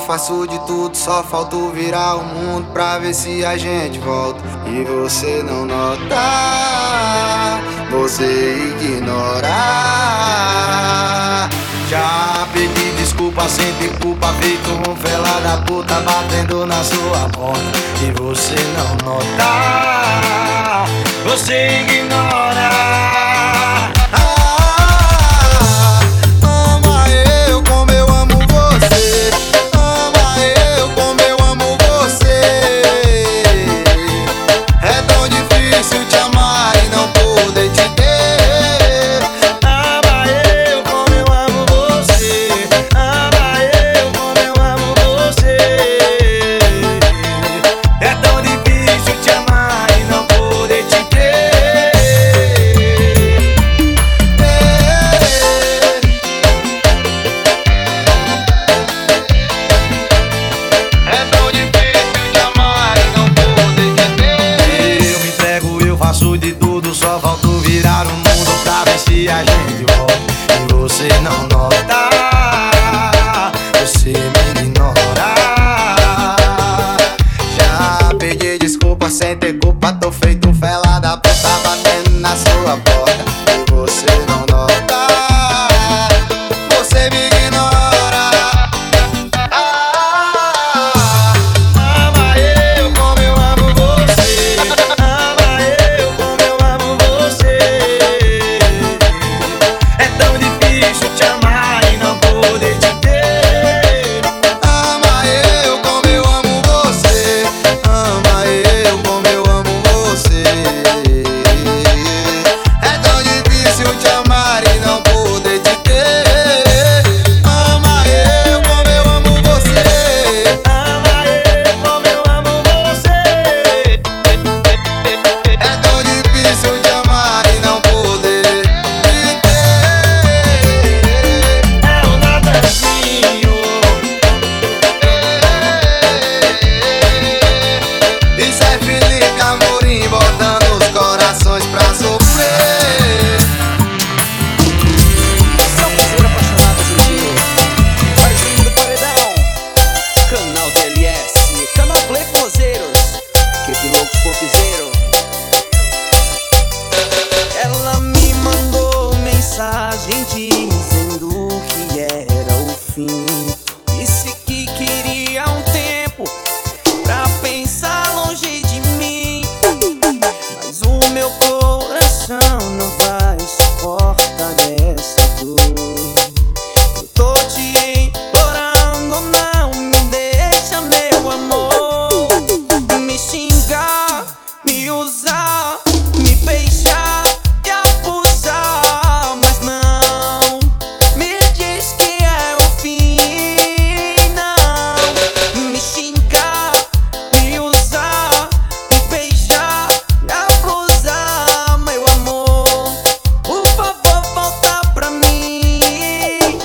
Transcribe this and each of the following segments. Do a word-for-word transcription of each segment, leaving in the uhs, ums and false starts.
faço de tudo, só falta virar o mundo pra ver se a gente volta. E você não nota, você ignora. Já pedi desculpa sem ter culpa, feito um fela da puta batendo na sua porta. E você não nota, você ignora. De tudo, só falta virar o mundo pra ver se a gente volta. E você não nota, você me ignora. Já pedi desculpa sem ter culpa, tô feito um fela da puta batendo na sua porta. E você não nota, você me ignora. Ela me mandou mensagem dizendo que era o fim. Disse que queria um tempo pra pensar longe de mim. Mas o meu coração não vai suportar essa dor. Eu tô te implorando, não me deixa, meu amor. Me xingar, me usar, me beijar, me abusar, mas não me diz que é o fim, não. Me xingar, me usar, me beijar, me abusar, meu amor, por favor volta pra mim.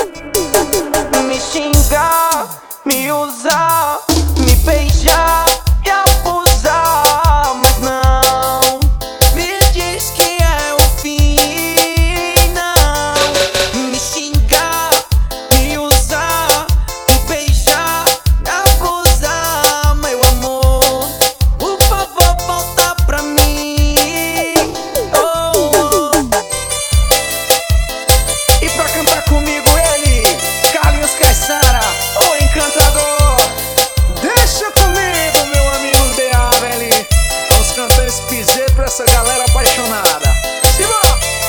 Me xingar, me usar, me beijar, me abusar, mas não me diz que é o fim, não. Me xingar, me usar, me beijar, me abusar, meu amor, por favor volta pra mim. Oh, oh. E pra cantar comigo ele, Carlinhos Caissara, o encantador. Deixa comigo, meu amigo D A, velho. Vamos cantar esse piseiro pra essa galera apaixonada. Simbora!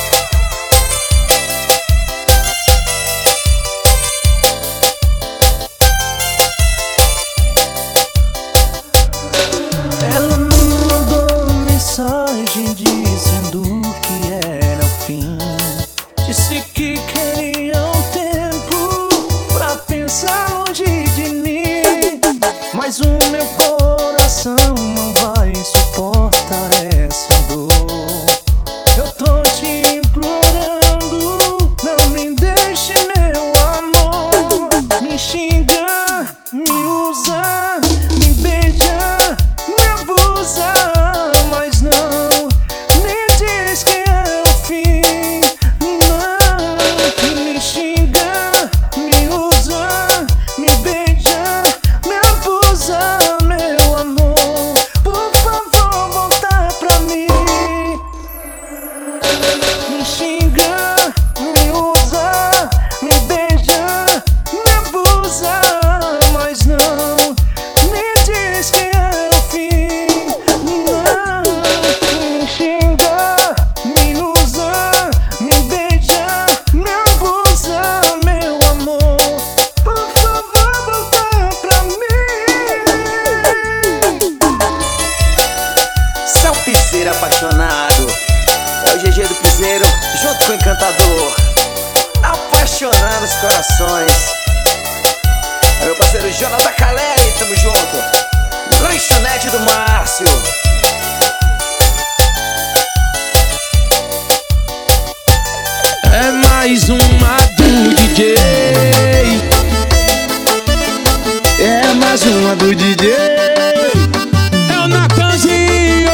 Ela me mandou mensagem dizendo que era o fim. Disse que queria um tempo pra pensar longe de mim. Mas o meu coração não vai suportar essa dor. Eu tô te implorando, não me deixe, meu amor. Me xingar, me usar, me beijar, me abusar, mas não me diz que é o fim, não. Me xingar, me usar, me beijar, piseiro apaixonado. É o G G do Piseiro junto com o Encantador, apaixonando os corações. É meu parceiro Jonathan Caleri, tamo junto. Lanchonete do Márcio. É mais uma do D J. É mais uma do D J. É o Natanzinho.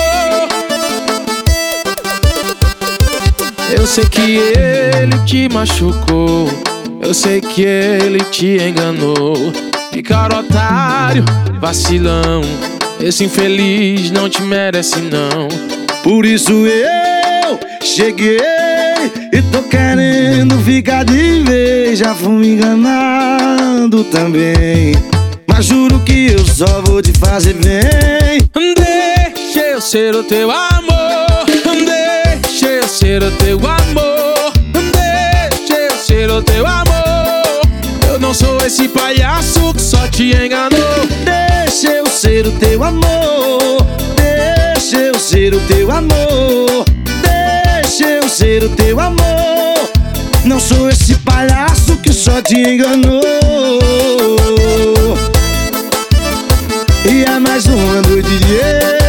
Eu sei que ele te machucou, eu sei que ele te enganou. Que cara otário, vacilão, esse infeliz não te merece não. Por isso eu cheguei e tô querendo ficar de vez. Já fui me enganando também, mas juro que eu só vou te fazer bem. Deixa eu ser o teu amor, deixa eu ser o teu amor, deixa eu ser o teu amor. Eu não sou esse palhaço que só te enganou. Deixa eu ser o teu amor, deixa eu ser o teu amor, deixa eu ser o teu amor. Não sou esse palhaço que só te enganou. E é mais uma do D J.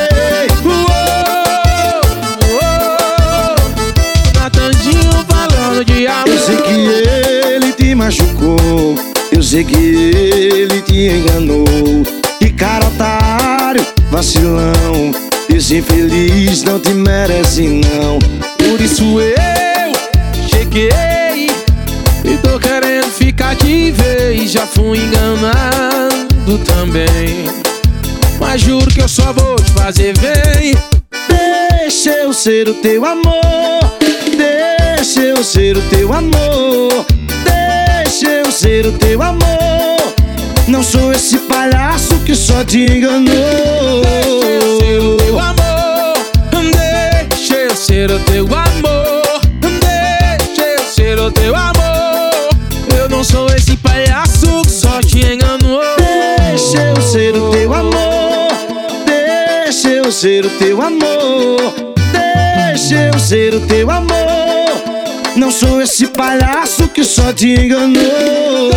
Natanzinho falando de amor. Eu sei que ele te machucou, eu sei que ele te enganou. Que cara otário, vacilão, esse infeliz não te merece não. Por isso eu cheguei e tô querendo ficar de vez. Já fui enganado também, mas juro que eu só vou te fazer bem. Deixa eu ser o teu amor, deixa eu ser o teu amor, deixa eu ser o teu amor. Não sou esse palhaço que só te enganou. Deixa eu ser o teu amor, deixa eu ser o teu amor, deixa eu ser o teu amor. Eu não sou esse palhaço que só te enganou. Deixa eu ser o teu amor, deixa eu ser o teu amor, deixa eu ser o teu amor. Não sou esse palhaço que só te enganou.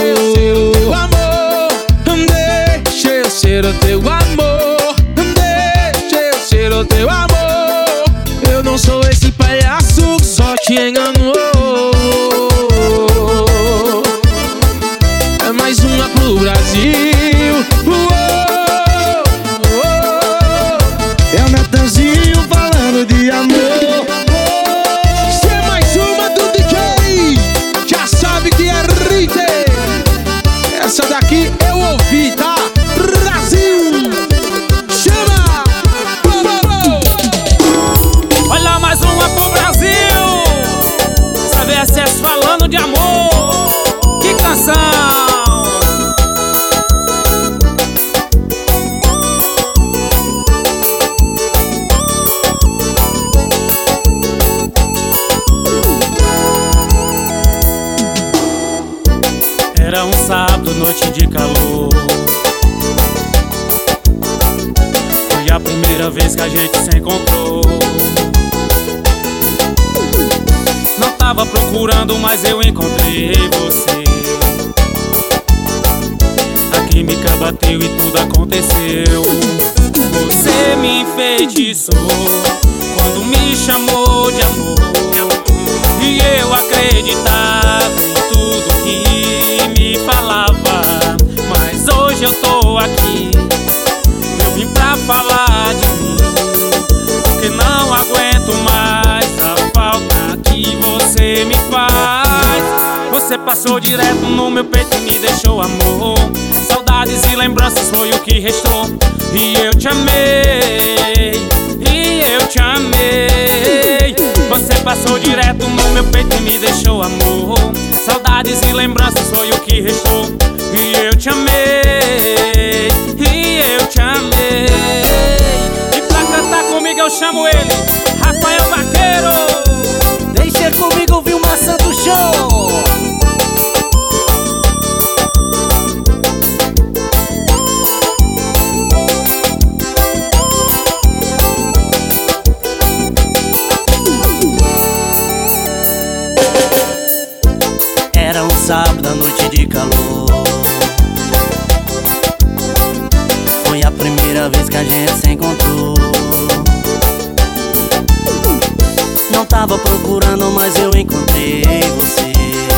Deixa eu ser o teu amor, deixa eu ser o teu amor. Eu não sou esse palhaço que só te enganou. É mais uma pro Brasil. É o Natanzinho falando de amor. Se é mais uma do D J, já sabe que é Rite. Essa daqui eu ouvi, tá? Brasil! Chama! Olha mais uma pro Brasil. Essa V S S falando de amor. Que canção! Era um sábado, noite de calor. Foi a primeira vez que a gente se encontrou. Não tava procurando, mas eu encontrei você. A química bateu e tudo aconteceu. Você me enfeitiçou quando me chamou de amor. E eu acreditava em tudo que me falava. Mas hoje eu tô aqui, eu vim pra falar de mim, porque não aguento mais a falta que você me faz. Você passou direto no meu peito e me deixou amor. Saudades e lembranças foi o que restou. E eu te amei, e eu te amei. Você passou direto no meu peito e me deixou amor. Saudades e lembranças foi o que restou. E eu te amei, e eu te amei. E pra cantar comigo eu chamo ele, Rafael Vaqueiro. Deixa comigo ouvir uma Santo Show. noite de calor. Foi a primeira vez que a gente se encontrou. Não tava procurando, mas eu encontrei você.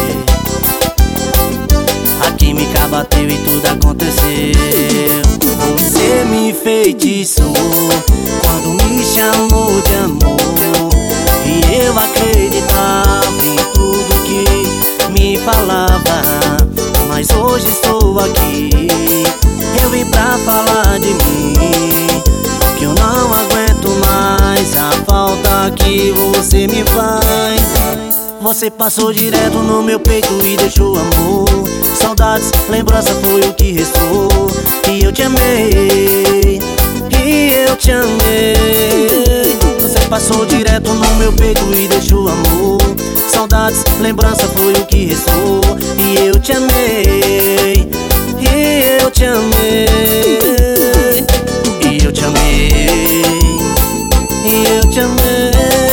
A química bateu e tudo aconteceu. Você me enfeitiçou quando me chamou de amor, e eu acreditava em tudo que me falava. Mas hoje estou aqui, eu vim pra falar de mim, que eu não aguento mais a falta que você me faz. Você passou direto no meu peito e deixou amor. Saudades, lembrança foi o que restou. E eu te amei, e eu te amei. Você passou direto no meu peito e deixou amor. Saudades, lembrança foi o que restou. E eu te amei, e eu te amei. E eu te amei, e eu te amei.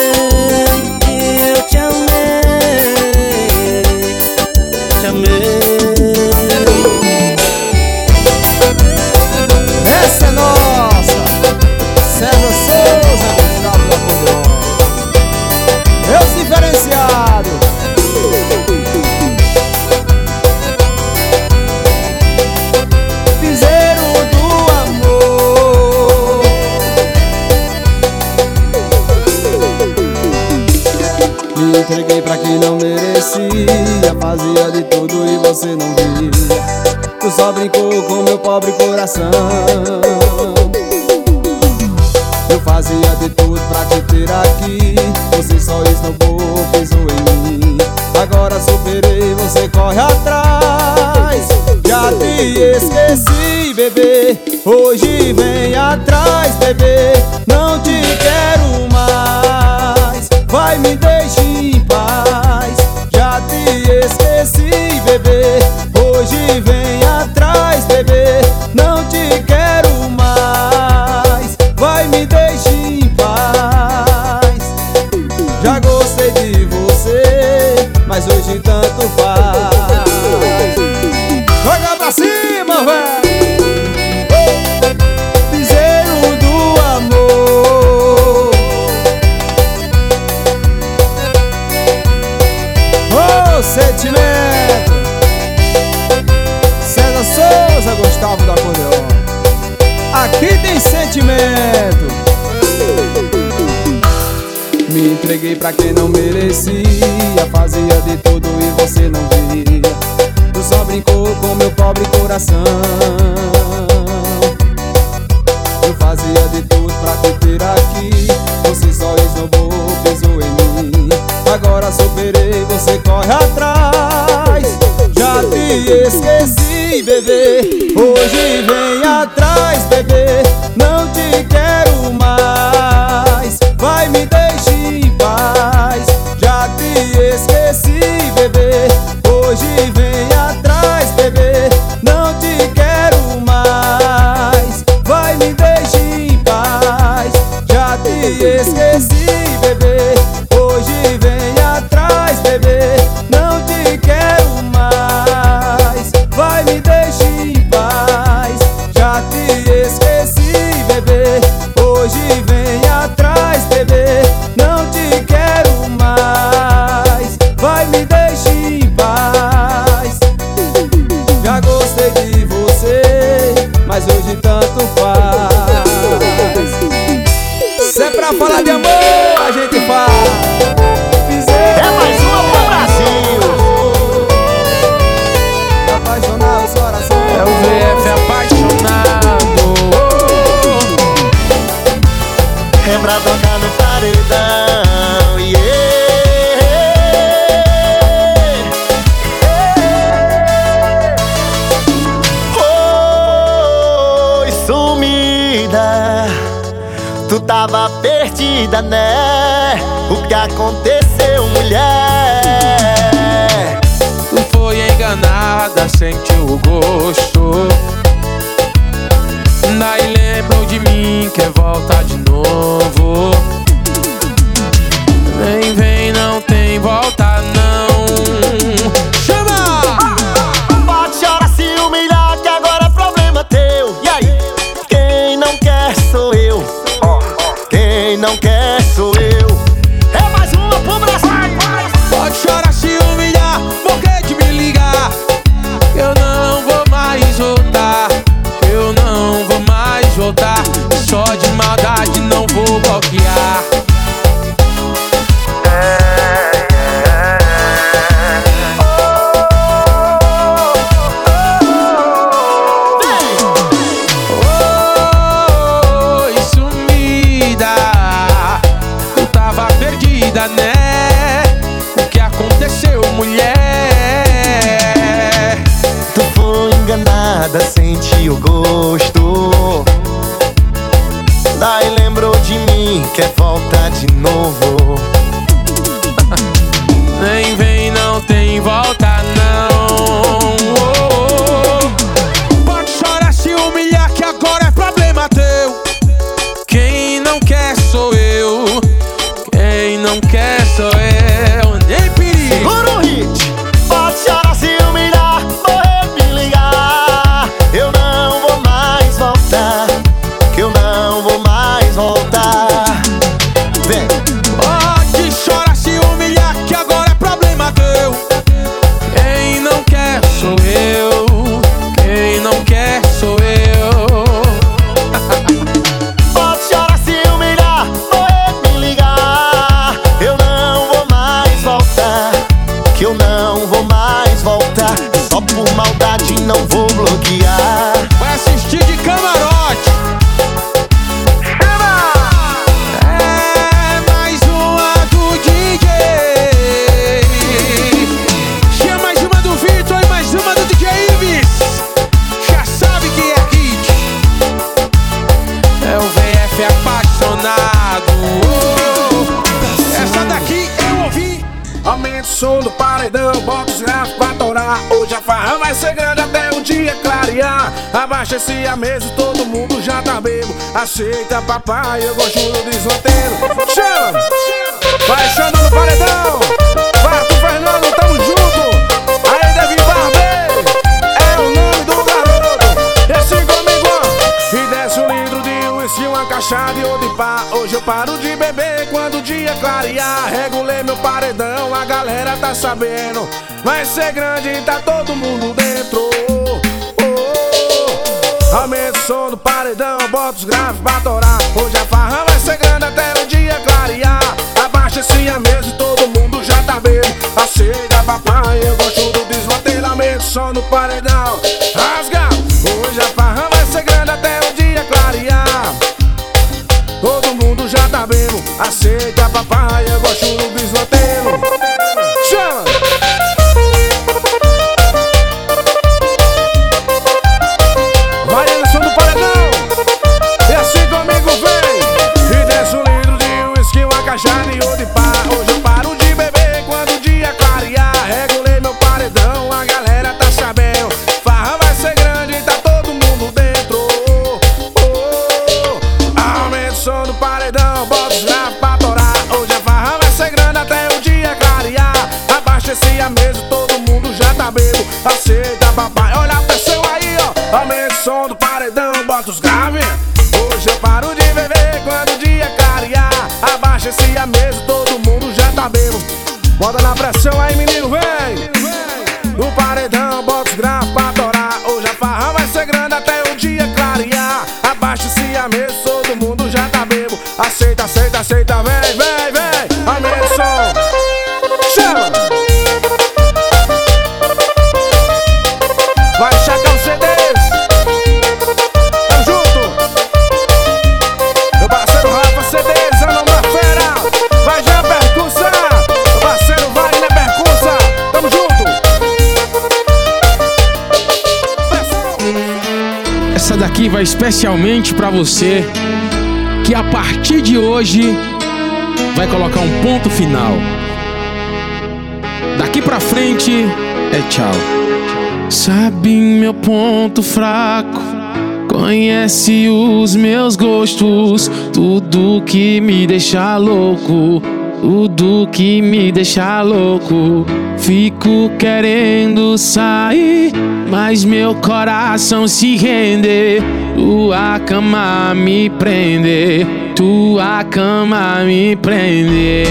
E eu te amei, te amei. Essa é nossa, César Souza, Gustavo da Acordeon. Meus diferenciados. Piseiro do amor. Me entreguei pra quem não merecia, fazia de tudo e você não via. Tu só brincou com meu pobre coração. Eu fazia de tudo pra te ter aqui, você só esnobou, pisou em mim. Agora superei, você corre atrás. Já te esqueci, bebê, hoje vem atrás, bebê. Não te quero mais, vai, me deixe em paz. Já te esqueci, bebê, hoje vem atrás, bebê. Não te quero mais, vai, me deixe em paz. Já gostei de você, mas hoje tanto faz. Joga pra cima, véi! Piseiro do amor. Oh, sentimento. César Souza, Gustavo da Acordeon. Aqui tem sentimento. Me entreguei pra quem não merecia, fazia de tudo e você não via. Tu só brincou com meu pobre coração. Eu fazia de tudo pra te ter aqui, você só esnobou, pisou em mim. Agora superei, você corre atrás. Já te esqueci, bebê, hoje vem atrás, bebê. Não te quero mais, vai, me deixe em paz. Já te esqueci, bebê, hoje vem atrás, bebê. Não te quero mais, vai, me deixe em paz. Já te esqueci, bebê, hoje vem atrás, bebê. Não te quero mais, vai, me deixe em paz. Já te esqueci, bebê, hoje vem atrás, bebê. Não te quero mais, vai, me deixe em paz. Já gostei de você, mas hoje tanto faz. Se é pra falar de amor, a gente faz. É mais uma pro Brasil. Apaixonar os corações. É o V F apaixonado. É pra tocar no paredão, yeah. Oi, sumida, tu tava perdida, né? O que aconteceu, mulher? Tu foi enganada, sentiu o gosto. Daí lembrou de mim, quer voltar de novo. Vem, vem, não tem volta não. Chama! seu gosto. Daí lembrou de mim, quer voltar de novo. Nem vem, não tem volta não. Oh, oh. Pode chorar, se humilhar, que agora é problema teu. Quem não quer sou eu. Quem não quer sou eu. Nem perigo. Segura o hit. Pode chorar, se humilhar, morrer, me ligar. Eu não vou mais voltar. Que eu não vou mais voltar. Vem. Pode chorar, se humilhar, que agora é problema teu. Quem não quer sou eu. Quem não quer sou eu. Pode chorar, se humilhar, morrer, me ligar. Eu não vou mais voltar. Que eu não vou mais voltar. Só por maldade não vou bloquear. Vai assistir de camarote. É mais uma do D J. Tinha mais uma do Vitor e mais uma do D J Ives. Já sabe que é hit. É o V F apaixonado. Oh, essa daqui eu ouvi. Aumenta o som do paredão, bota os grafos pra torar. Hoje a farra vai ser grande até o dia clarear. Abaixa-se a mesa, todo mundo já tá bebo. Aceita papai, eu gosto do desmanteiro. Chama! Vai chamando no paredão. Barto Fernando, tamo junto. Aí Davi Barbê, é o nome do garoto. E assim comigo, ó. E desce um litro de uísque, uma caixa de ouro de pá. Hoje eu paro de beber quando o dia clarear. Regulei meu paredão, a galera tá sabendo. Vai ser grande e tá todo mundo dentro. Oh, oh. Aumenta o som do paredão, bota os graves pra torar. Hoje a farra vai ser grande até o dia clarear. Abaixa-se a mesa e todo mundo já tá bebo. Aceita papai, eu gosto do desmanteiro. Aumenta o som do paredão, rasga. Hoje a farra vai ser grande até o dia clarear. Todo mundo já tá bebo. Aceita papai, eu gosto do desmanteiro. Chama! Vai no som do paredão. E assim comigo vem. E desce um litro de uísque, uma caixa de ouro de pá. Hoje eu paro de beber quando o dia clarear. Regulei meu paredão, a galera tá sabendo. Farra vai ser grande e tá todo mundo dentro. Oh, oh. Aumenta o som do paredão, bota os grafos pra torar. Hoje a farra vai ser grande até o dia clarear. Abaixa-se a mesa, todo mundo já tá bebo. Aceita papai, olha a pressão aí, ó. Aumenta o som do paredão, bota os graves. Hoje eu paro de beber quando o dia clarear. Abaixa-se a mesa, todo mundo já tá bebo. Bota na pressão aí, menino, vem. No paredão, bota os grafos pra torar. Hoje a farra vai ser grande até o dia clarear. Abaixa-se a mesa, todo mundo já tá bebo. Aceita, aceita, aceita, vem, vem, vem. Aumenta o som. Chama! Vai chacar os C Ds. Tamo junto. Meu parceiro Rafa C Ds, é o nome da fera. Vai já percussa. Meu parceiro Wagner percussa. Tamo junto. Essa daqui vai especialmente pra você que a partir de hoje vai colocar um ponto final. Daqui pra frente é tchau. Sabe meu ponto fraco, conhece os meus gostos. Tudo que me deixa louco, tudo que me deixa louco. Fico querendo sair, mas meu coração se rende. Tua cama me prende, tua cama me prende.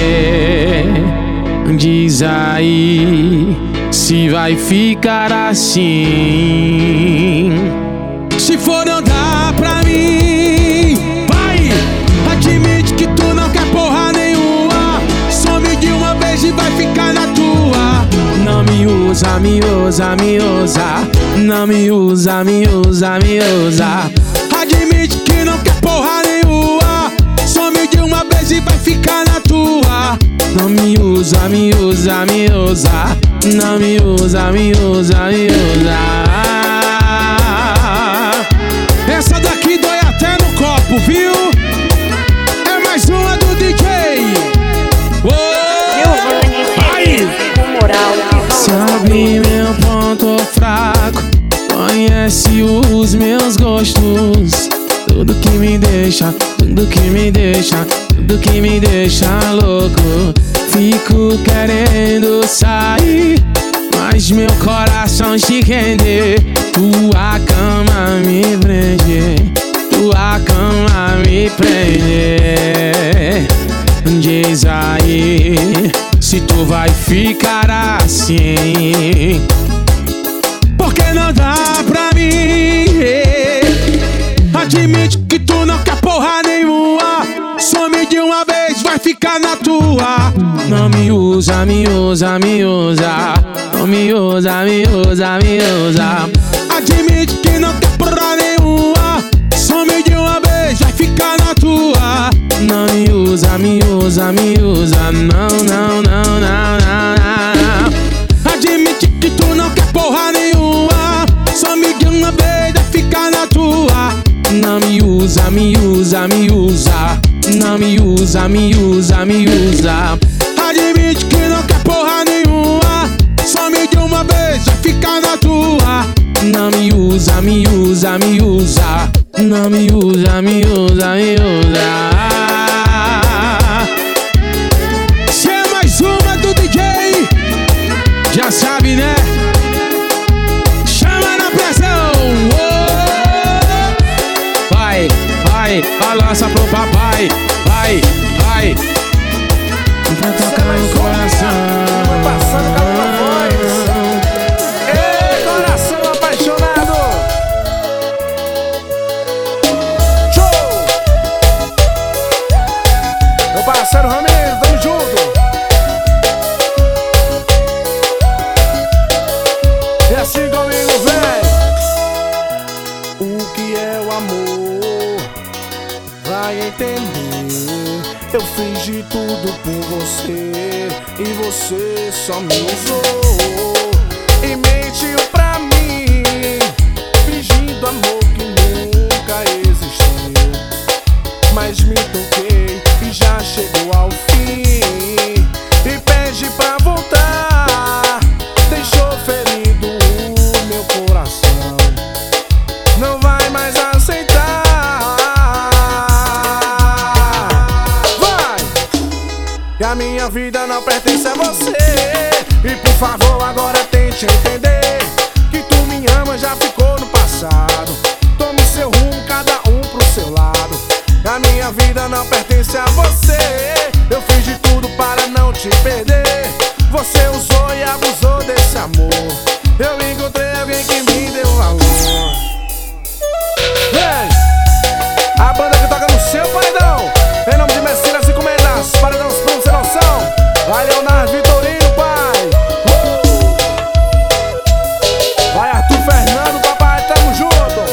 Diz aí se vai ficar assim. Se for não dá pra mim, vai, admite que tu não quer porra nenhuma. Some de uma vez e vai ficar na tua. Não me usa, me usa, me usa. Não me usa, me usa, me usa. Admite que não quer porra nenhuma. Some de uma vez e vai ficar na tua. Não me usa, me usa, me usa. Não me usa, me usa, me usa. conhece os meus gostos. Tudo que me deixa, tudo que me deixa, tudo que me deixa louco. Fico querendo sair, mas meu coração te rende. Tua cama me prende, tua cama me prende. Diz aí se tu vai ficar assim, porque não dá pra mim. Admite que tu não quer porra nenhuma, some de uma vez, vai ficar na tua. Não me usa, me usa, me usa, não me usa, me usa, me usa. Admite que não quer porra nenhuma, some de uma vez, vai ficar na tua. Não me usa, me usa, me usa, não, não, não, não, não, não. Admite que tu não quer porra nenhuma, some de uma vez, vai ficar na tua. Não me usa, me usa, me usa, não me usa, me usa, me usa. Admite que não quer porra nenhuma, some de uma vez, vai ficar na tua. Não me usa, me usa, me usa, não me usa, me usa, me usa. Se é mais uma do D J, já sabe, né? Chama na pressão. Oh! Vai, vai, balança pro papai. Vai, vai. Pra tocar no coração. Vai passando calor na voz. Ei, coração apaixonado. Show! Meu parceiro Ramiro, tamo junto. E assim comigo, vem. O que é o amor? Vai entender. Eu fiz de tudo por você e você só me usou e mentiu pra mim, fingindo amor que nunca existiu. Mas me toquei e já chegou ao fim e pede pra voltar. Deixou ferido o meu coração, não vai mais aceitar. Que a minha vida não pertence a você. E por favor agora tente entender que tu me ama, já ficou no passado. Tome seu rumo, cada um pro seu lado. Que a minha vida não pertence a você. Eu fiz de tudo para não te perder. Você usou e abusou desse amor. Eu encontrei alguém que me deu valor. Vem! A banda que toca no seu paredão, em nome de Messias e Comendas, paredão sem noção. Vai Leonardo Vitorino, pai. uh! Vai Arthur Fernando, papai, tamo junto.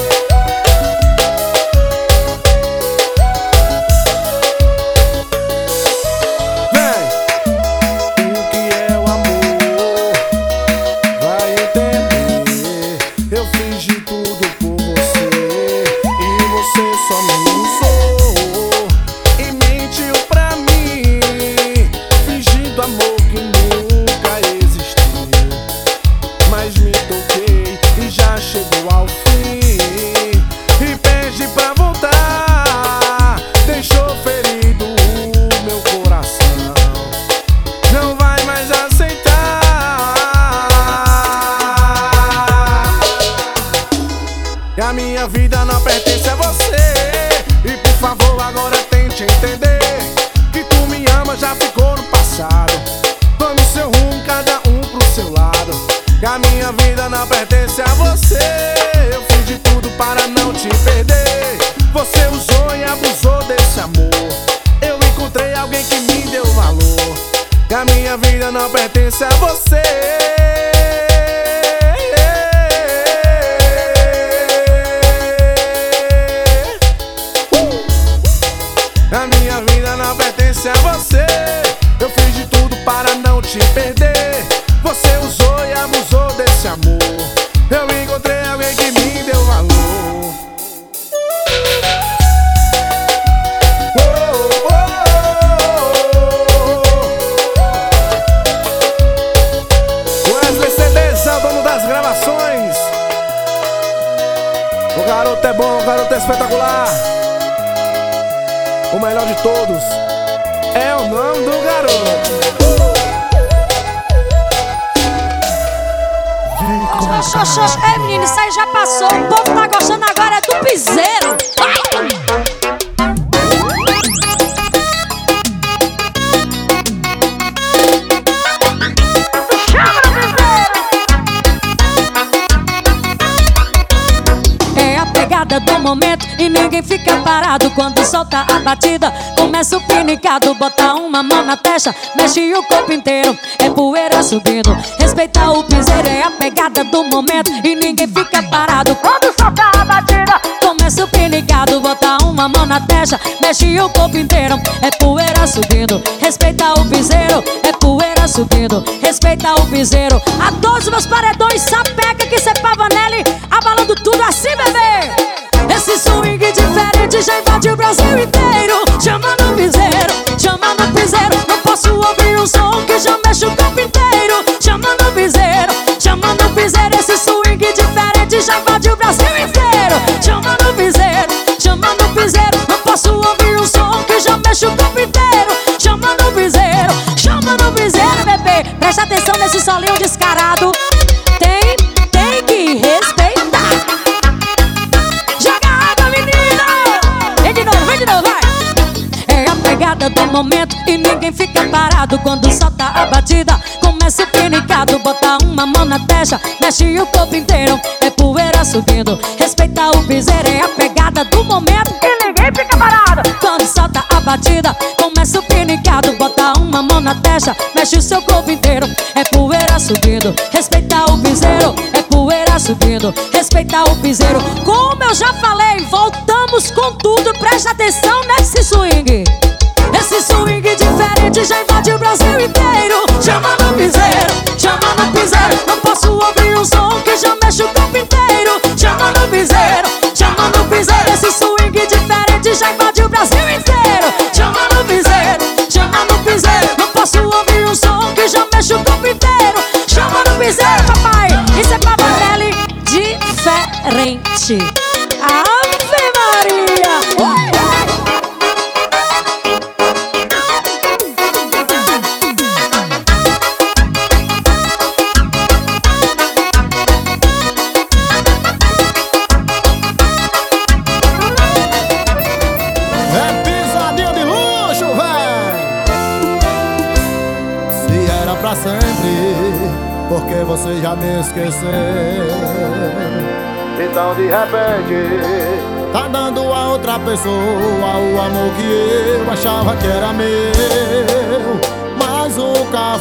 Vem. O que é o amor? Vai entender. Eu fiz de tudo por você e você só me usou e mentiu pra mim, fingindo amor que nunca existiu. Mas me toquei e já chegou ao fim e pede pra voltar. Deixou ferido o meu coração, não vai mais aceitar. Que a minha vida não pertence a você. E por favor agora tente entender que tu me ama, já ficou no passado. Tome seu rumo, cada um pro seu lado. Que a minha vida não pertence a você. Eu fiz de tudo para não te perder. Você usou e abusou desse amor. Eu encontrei alguém que me deu valor. Que a minha vida não pertence a você. A minha vida não pertence a você. Eu fiz de tudo para não te perder. Você usou e abusou desse amor. Eu encontrei alguém que me deu valor. Oh, oh, oh, oh. Wesley garoto espetacular. O melhor de todos é o nome do garoto. Xoxô, xoxô. Ei, menino, isso aí já passou. O povo tá gostando agora é do piseiro. É a pegada do momento e ninguém fica parado quando solta a batida. Começa o pinicado, bota uma mão na testa, mexe o corpo inteiro, é poeira subindo. Respeitar o piseiro é a pegada do momento e ninguém fica parado quando solta a batida. Começa o pinicado, bota uma mão na testa, mexe o corpo inteiro, é poeira subindo. Respeitar o piseiro, é poeira subindo. Respeitar o piseiro. A todos os meus paredões, sapeca que cê pavanelli, abalando tudo assim, bebê. Esse swing diferente já invade o Brasil inteiro. Chama no piseiro, chama no piseiro. Não posso ouvir um som que já mexe o corpo inteiro. Chama no piseiro, chama no piseiro. Esse swing diferente já invade o Brasil inteiro. Chama no piseiro, chama no piseiro. Não posso ouvir um som que já mexe o corpo inteiro. Chama no piseiro, chama no piseiro, bebê. Presta atenção nesse solinho descarado. Tem, tem que respeitar. Do momento e ninguém fica parado quando solta a batida. Começa o pinicado, bota uma mão na testa, mexe o corpo inteiro, é poeira subindo. Respeitar o piseiro é a pegada do momento e ninguém fica parado quando solta a batida. Começa o pinicado, bota uma mão na testa, mexe o seu corpo inteiro, é poeira subindo. Respeitar o piseiro, é poeira subindo. Respeitar o piseiro. Como eu já falei, voltamos com tudo, presta atenção nesse swing. Esse swing diferente já invade o Brasil inteiro. Chama no piseiro, chama no piseiro. Não posso ouvir um som que já mexe o corpo inteiro. Chama no piseiro, chama no piseiro. Esse swing diferente já invade o Brasil inteiro. Chama no piseiro, chama no piseiro. Não posso ouvir um som que já mexe o corpo inteiro. Chama no piseiro, papai. Isso é pavanelli diferente. Ave Maria. Porque você já me esqueceu. Então de repente tá dando a outra pessoa o amor que eu achava que era meu, mas nunca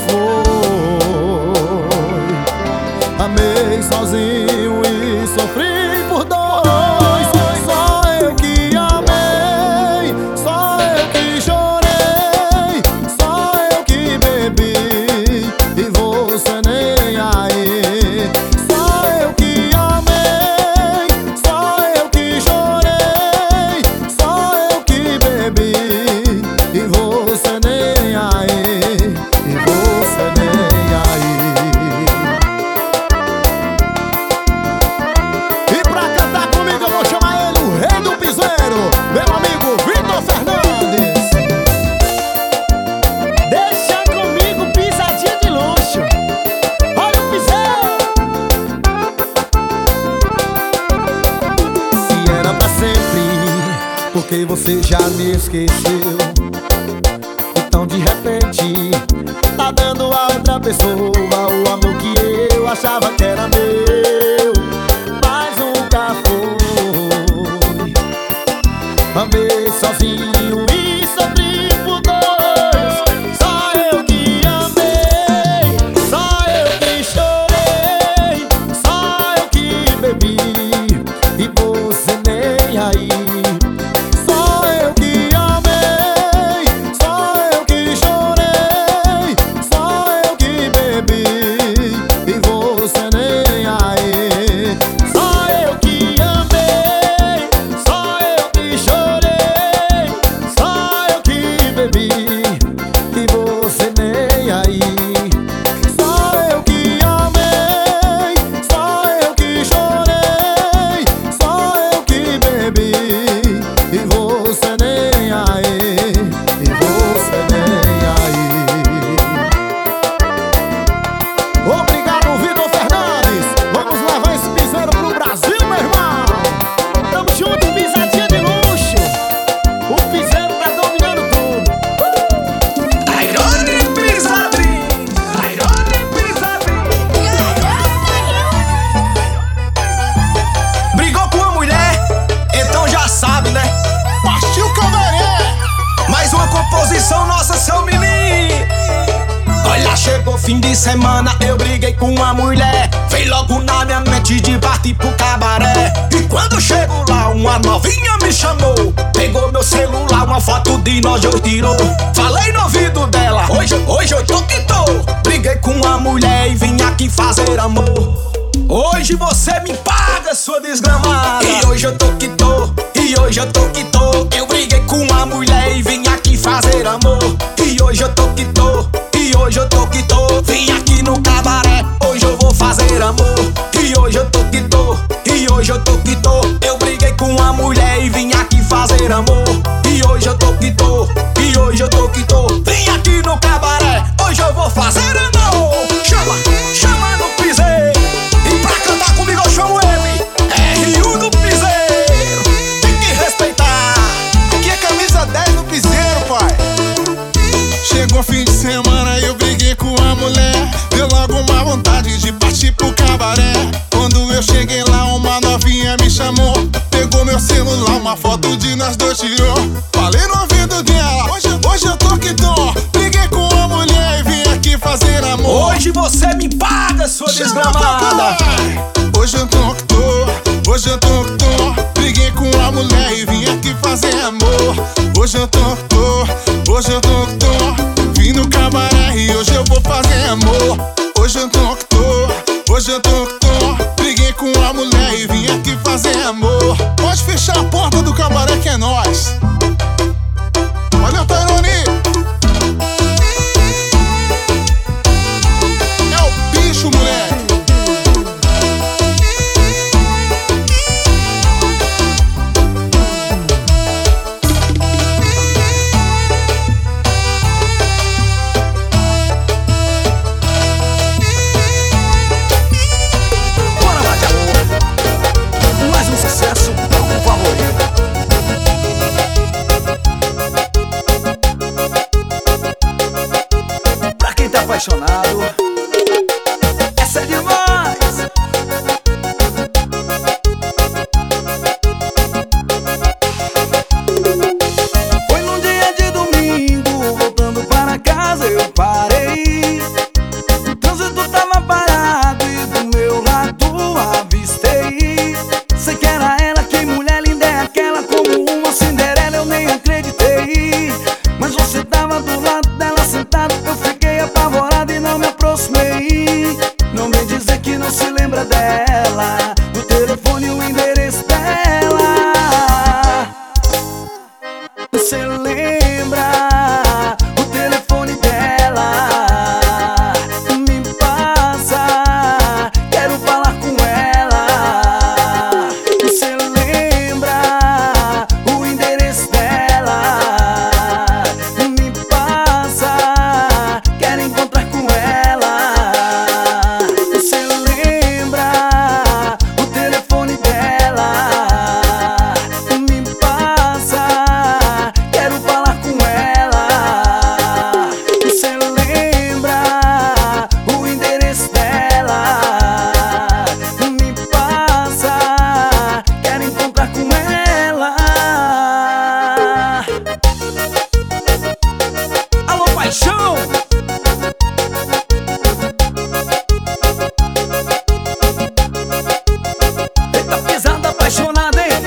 foi. Amei sozinho e sofri por dois. Só eu que amei, só eu que chorei, só eu que bebi e você nem aí. Só eu que amei, só eu que chorei, só eu que bebi e você nem aí, e você nem aí. E pra cantar comigo eu vou chamar ele, o rei do piseiro, meu amigo Vitor Fernandes. Deixa comigo, pisadinha de luxo. Olha o piseiro. Se era pra sempre, porque você já me esqueceu. Então de repente tá dando a outra pessoa o amor que eu achava que era meu, mas nunca foi. Amei sozinho e sofri por dois. Só eu que amei, só eu que chorei, só eu que bebi e você nem aí. Só eu que amei, só eu que chorei, só eu que bebi e você nem aí. Só eu que amei, só eu que chorei, só semana eu briguei com uma mulher. Veio logo na minha mente de partir pro cabaré. E quando eu chego lá, uma novinha me chamou. Pegou meu celular, uma foto de nós dois tirou. Falei no ouvido dela, hoje, hoje eu tô que tô. Briguei com uma mulher e vim aqui fazer amor. Hoje você me paga, sua desgramada. E hoje eu tô que tô, e hoje eu tô que tô. Eu briguei com uma mulher e vim aqui fazer amor. E hoje eu tô que tô, e hoje eu tô que tô. Vim aqui no cabaré, hoje eu vou fazer amor. E hoje eu tô que tô, e hoje eu tô que tô. Eu briguei com uma mulher e vim aqui fazer amor. E hoje eu tô que tô, e hoje eu tô que tô. Vim aqui no cabaré, hoje eu vou fazer amor. Chama, chama no piseiro. E pra cantar comigo eu chamo ele, R U do piseiro. Tem que respeitar. Aqui é camisa dez no piseiro, pai. Chegou fim de semana e eu briguei com a mulher. Deu logo uma vontade de partir pro cabaré. Quando eu cheguei lá, uma novinha me chamou. Pegou meu celular, uma foto de nós dois tirou. Falei no ouvido dela, hoje, hoje eu tô que tô. Briguei com a mulher e vim aqui fazer amor. Hoje você me paga, sua desgramada. Hoje eu tô que tô, hoje eu tô que tô. Briguei com a mulher e vim aqui fazer amor. Hoje eu tô que tô, hoje eu tô que tô. Vim no cabaré e hoje eu vou fazer amor. Hoje eu tô que tô, hoje eu tô que tô. Briguei com a mulher e vim aqui fazer amor. Pode fechar a porta do cabaré que é nóis. Valeu, Tairone. É o bicho, moleque. Apaixonado, essa é demais. Foi num dia de domingo, voltando para casa eu parei. O trânsito tava parado e do meu lado avistei. Sei que era ela, que mulher linda é aquela, como uma Cinderela eu nem acreditei. Mas você tava do lado dela sentado, eu fiquei apavorado e não me aproximei. Não vem dizer que não se lembra dela, do telefone e o endereço dela. Você lembra o telefone dela? Me passa, quero falar com ela. Você lembra o endereço dela? Me passa, quero encontrar com ela. Você lembra o telefone dela? Me passa, quero falar com ela. Você lembra o endereço dela? Me passa, quero encontrar com ela. Alô, paixão! Eita pisada apaixonada, hein?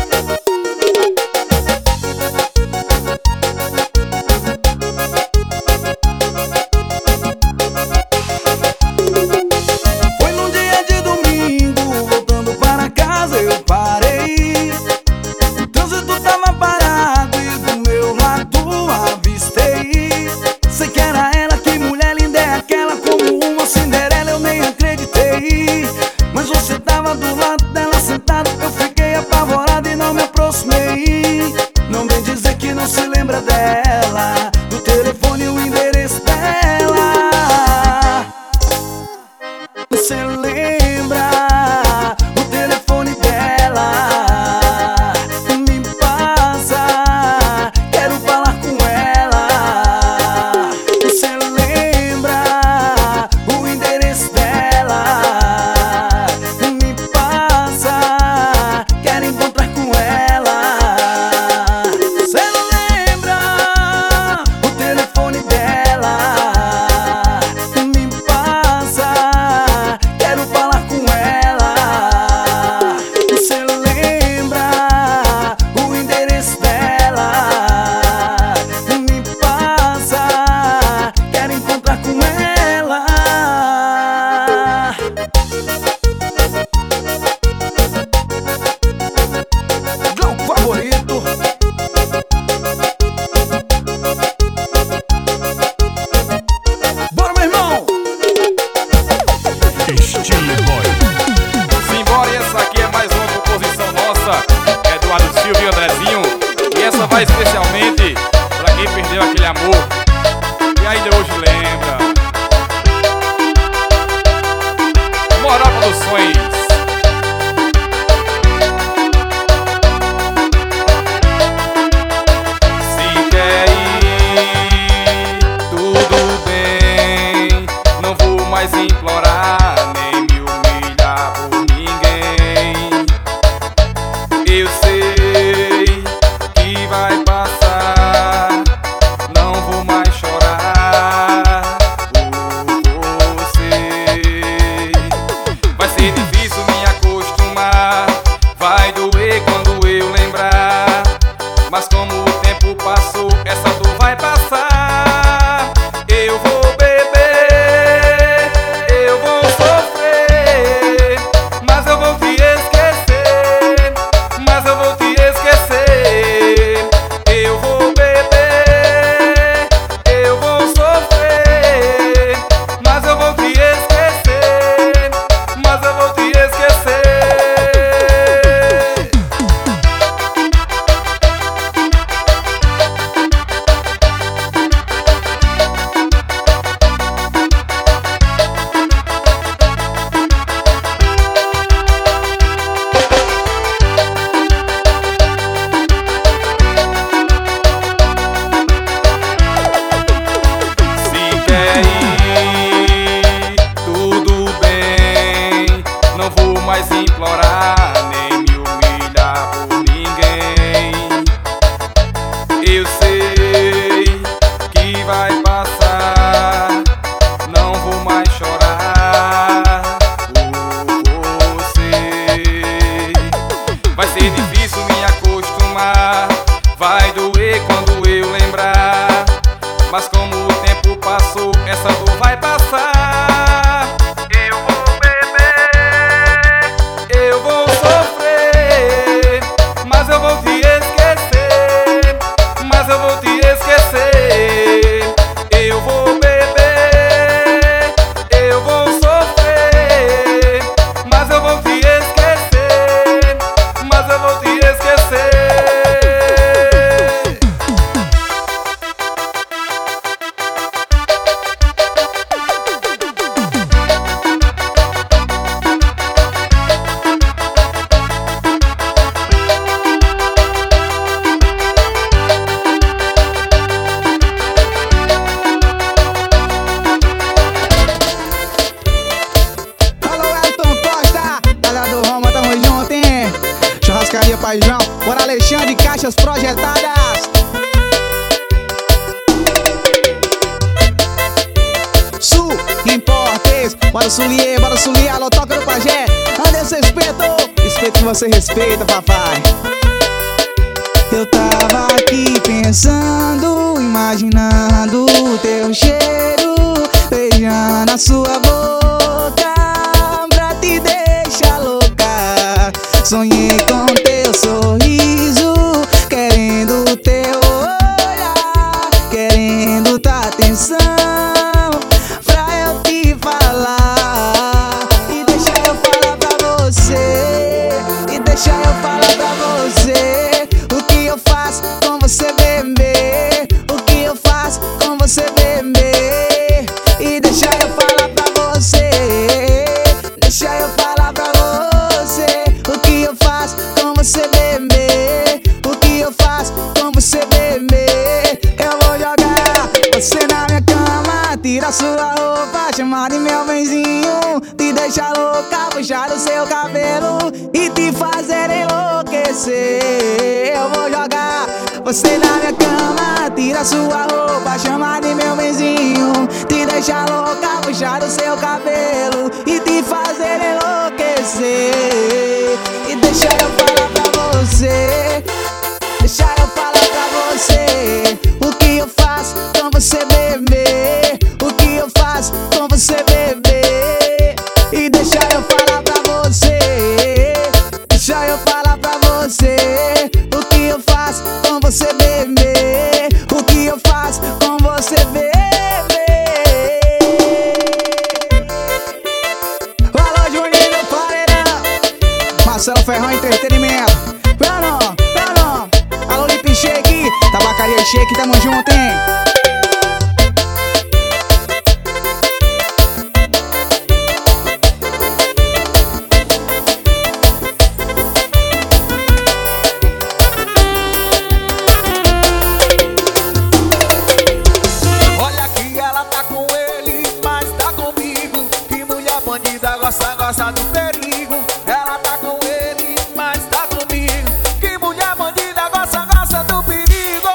Foi num dia de domingo, voltando para casa eu parei. O trânsito tava parado e do meu lado avistei. Sei que era ela, que mulher linda é aquela, como uma Cinderela eu nem acreditei. Mas você tava do lado dela sentado, eu fiquei apavorado e não me aproximei. Não vem dizer que não se lembra dela, do telefone e o endereço dela. Você lembra o telefone dela? Me passa, quero falar com ela. Você lembra o endereço dela? Me passa, quero encontrar com ela. Você lembra o telefone Silvinho Andrezinho. E essa vai especialmente pra quem perdeu aquele amor e ainda hoje lembra. Moral Produções. Se quer ir, tudo bem. Não vou mais implorar, nem me humilhar por ninguém. Eu sei que vai passar, não vou mais chorar por você. Vai ser difícil me acostumar, vai doer quando eu lembrar, mas como o tempo passou, essa dor vai passar. Eu vou beber, eu vou sofrer, mas eu vou te esquecer, mas eu vou te esquecer. Eu vou beber, eu vou sofrer, mas eu vou te esquecer, mas eu vou te esquecer. Se quer ir, tudo bem. Não vou mais implorar, nem me humilhar por ninguém. Eu sei que vai passar, não vou mais chorar por você. Vai ser difícil me acostumar, vai doer quando eu lembrar, mas como o tempo passou, essa dor vai passar. Eu vou beber, eu vou sofrer, mas eu vou te esquecer, mas eu vou te esquecer. Eu vou beber, eu vou sofrer, mas eu vou te esquecer, mas eu vou te esquecer. Alô, Elton Costa, galera do Roma, tamo junto, hein? Churrascaria Pai João, bora Alexandre, caixas projetadas. Sul, Importes, bora Sulier, bora Sulier, alô, toca no pajé. Anderson Espeto, respeito que você respeita, papai. Eu tava aqui pensando, imaginando o teu cheiro, beijando a sua boca pra te deixar louca. Sonhei com teu sorriso, querendo teu olhar, querendo tua atenção, pra eu te falar. E deixa eu falar pra você, e deixa eu falar pra você o que eu faço com você, bebê. O que eu faço com você, bebê. E deixa eu falar pra você, deixa eu falar pra você o que eu faço com você, bebê. O que eu faço com você, bebê. Eu vou jogar você na minha cama, tira sua roupa, chamar de meu benzinho, te deixar louca, puxar o seu cabelo e te fazer enlouquecer. Eu vou jogar você na minha cama, tira sua roupa, chamar de meu benzinho, te deixar louca, puxar o seu cabelo e te fazer enlouquecer. E deixa eu falar pra você, deixa eu falar pra você o que eu faço com você, bebê. O que eu faço com você, bebê. E deixa eu falar pra você, deixa eu falar pra você o que eu faço com você, bebê. O que eu faço com você, bebê. Alô, Juninho do Paredão, Marcelo Ferrão Entretenimento. Bueno, Shake, tamo junto, hein? Olha que ela tá com ele, mas tá comigo. Que mulher bandida gosta, gosta do perigo. Ela tá com ele, mas tá comigo. Que mulher bandida gosta, gosta do perigo.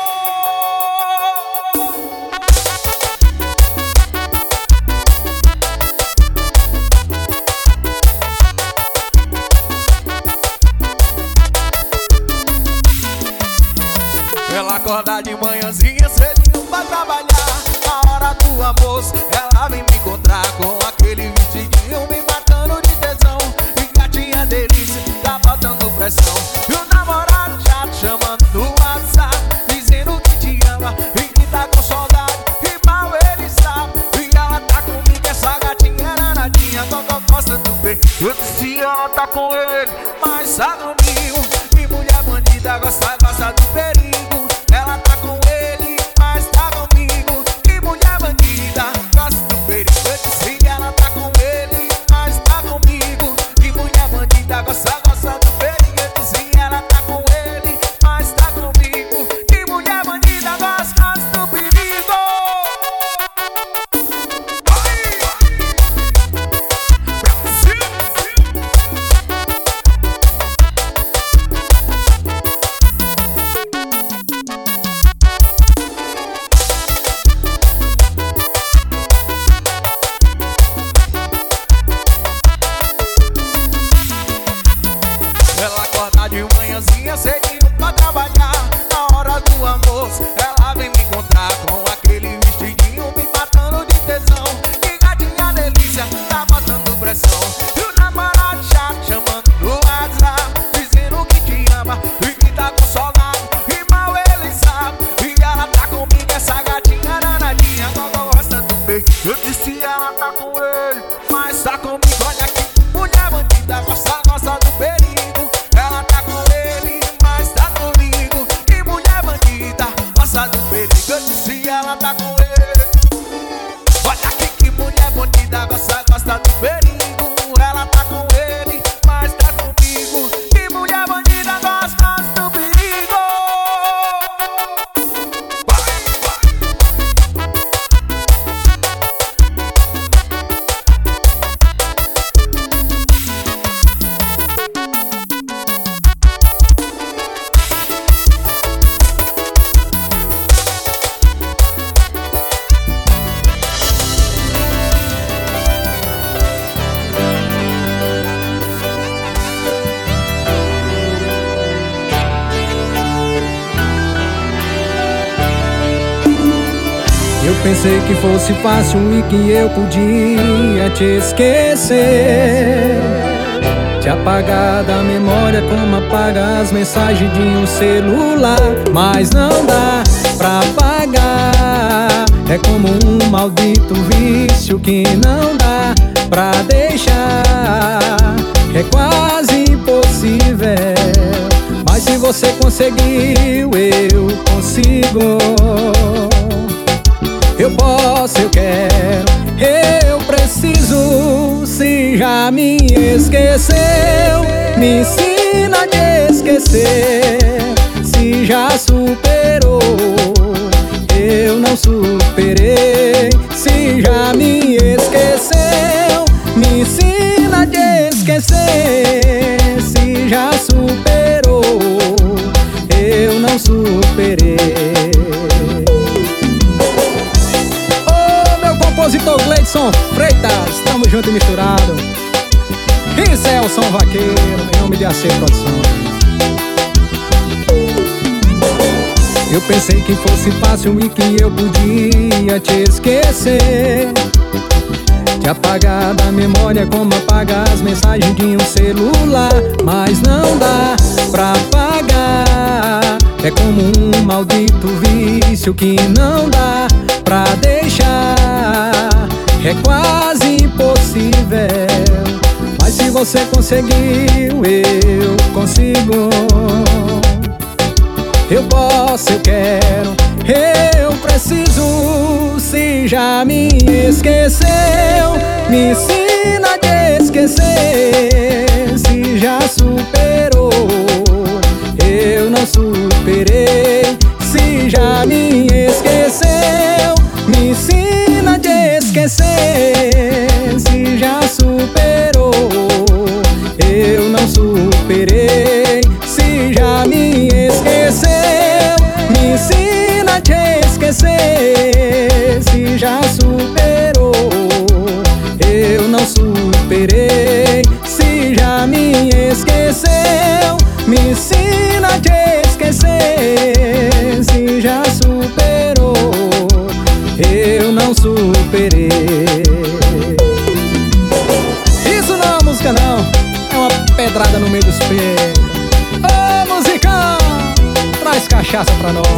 Ela acorda de manhãzinha cedinho pra trabalhar. Na hora do almoço ela vem me encontrar com aquele vestidinho me matando de tesão. E gatinha delícia, tá botando pressão. E o namorado já te chamando no WhatsApp, dizendo que te ama e que tá com saudade. E mal ele sabe, e ela tá comigo, essa gatinha é danadinha. Gogó gosta do bem, eu disse ela tá com ele, mas tá comigo. Que mulher bandida gosta, gosta do perigo. Ela tá com ele, mas tá comigo. Que mulher bandida gosta do perigo. Eu disse que ela tá com ele, mas tá comigo. Que mulher bandida gosta, gosta do perigo. Eu disse que ela tá com ele, mas tá comigo. Que mulher bandida gosta, gosta do perigo. Ela acorda de manhãzinha cedinho pra trabalhar. Na hora do almoço ela vem me encontrar com aquele vestidinho me matando de tesão. Que gatinha delícia, tá botando pressão. E o namorado já te chamando no WhatsApp, dizendo que te ama e que tá com saudade. E mal ele sabe, e ela tá comigo, essa gatinha danadinha. Gogó gosta do bem, eu disse ela tá com ele, mas tá comigo. Olha aqui, mulher bandida gosta, gosta do perigo. Ela tá com ele, mas tá comigo. Que mulher bandida gosta do perigo. Eu disse ela tá com ele. Olha aqui que mulher bandida gosta, gosta do perigo. Ela tá com ele, mas tá comigo. Que mulher bandida gosta, gosta do perigo. Vai, vai. Eu pensei que fosse fácil e que eu podia te esquecer, te apagar da memória como apaga as mensagens de um celular. Mas não dá pra apagar, é como um maldito vício que não dá pra deixar. É quase impossível, mas se você conseguiu, eu consigo. Eu posso, eu quero, eu preciso. Se já me esqueceu, me ensina a te esquecer. Se já superou, eu não superei. Se já me esqueceu, me ensina a te esquecer. Se já superou, eu não superei. Compositor Gleidson Freitas, tamo junto e misturado. E Celson Vaqueiro, em nome de A C Produção. Eu pensei que fosse fácil e que eu podia te esquecer, te apagar da memória como apaga as mensagens de um celular. Mas não dá pra apagar, é como um maldito vício que não dá pra deixar. É quase impossível, mas se você conseguiu, eu consigo. Eu posso, eu quero, preciso. Se já me esqueceu, me ensina a te esquecer. Se já superou, eu não superei. Se já me esqueceu, me ensina a te esquecer. Se já superou, eu não superei. Se já me esqueceu, me ensina a te esquecer. Se já superou, eu não superei. Se já me esqueceu, me ensina a te esquecer. Se já superou, eu não superei. Isso não é música não, é uma pedrada no meio dos pés. Ô musicão, traz cachaça pra nós.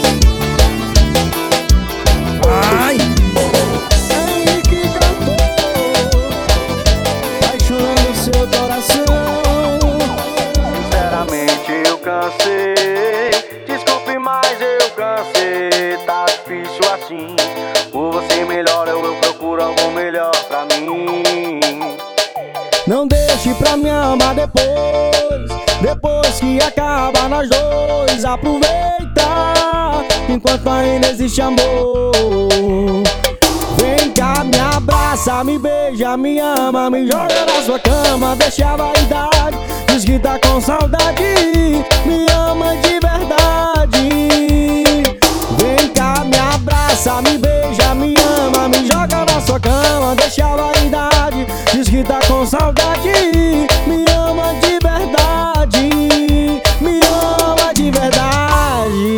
Ai, Ele que cantou, apaixonando seu coração. Sinceramente eu cansei, desculpe, mas eu cansei. Tá difícil assim, por você melhor eu, eu procuro algo melhor pra mim. Não deixe pra me amar depois, depois que acaba nós dois. Aproveita enquanto ainda existe amor. Vem cá, me abraça, me beija, me ama, me joga na sua cama, deixa a vaidade. Diz que tá com saudade, me ama de verdade. Vem cá, me abraça, me beija, me ama, me joga na sua cama, deixa a vaidade. Diz que tá com saudade, me ama de verdade. Me ama de verdade.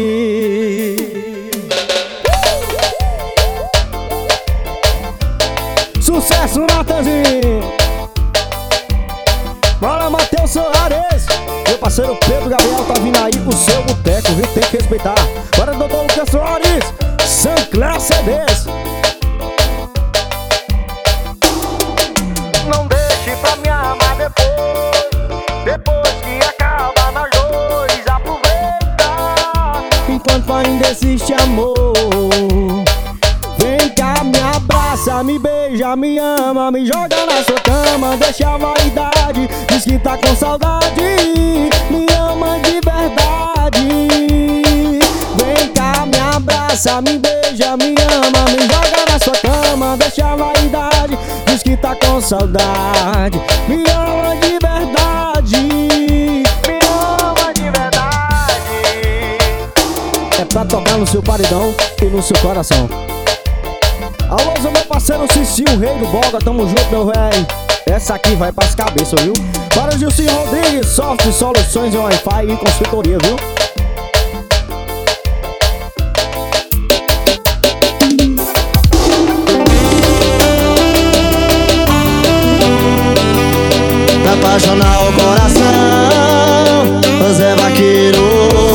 Sucesso, Natanzinho. Bora, Matheus Soares. Meu parceiro Pedro Gabriel tá vindo aí pro seu boteco, viu? Tem que respeitar. Bora, doutor Lucas Soares, Sancler C Ds. Não deixe pra me amar depois, depois que acaba nós dois. Aproveita enquanto ainda existe amor. Vem cá, me abraça, me beija, me ama, me joga na sua cama, deixa a vaidade. Diz que tá com saudade, me ama de verdade. Vem cá, me abraça, me beija, me ama, me joga na sua cama, deixa a vaidade. Diz que tá com saudade, me ama de verdade. me ama de verdade. É pra tocar no seu paredão e no seu coração. Alô, meu parceiro Cici, o rei do boga, tamo junto, meu véi. Essa aqui vai pras cabeças, viu? Para o Gilcinho Rodrigues, Soft Soluções em Wi-Fi e consultoria, viu? Pra apaixonar o coração, você vaqueiro.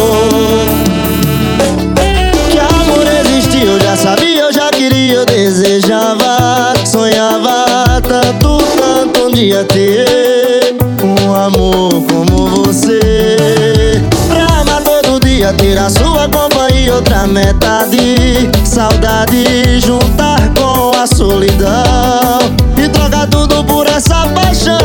Que amor existia, eu já sabia, eu já queria, eu desejava, sonhava tanto, tanto um dia ter um amor como você. Pra amar todo dia, ter a sua companhia, outra metade, saudade, juntar com a solidão e trocar tudo por essa paixão.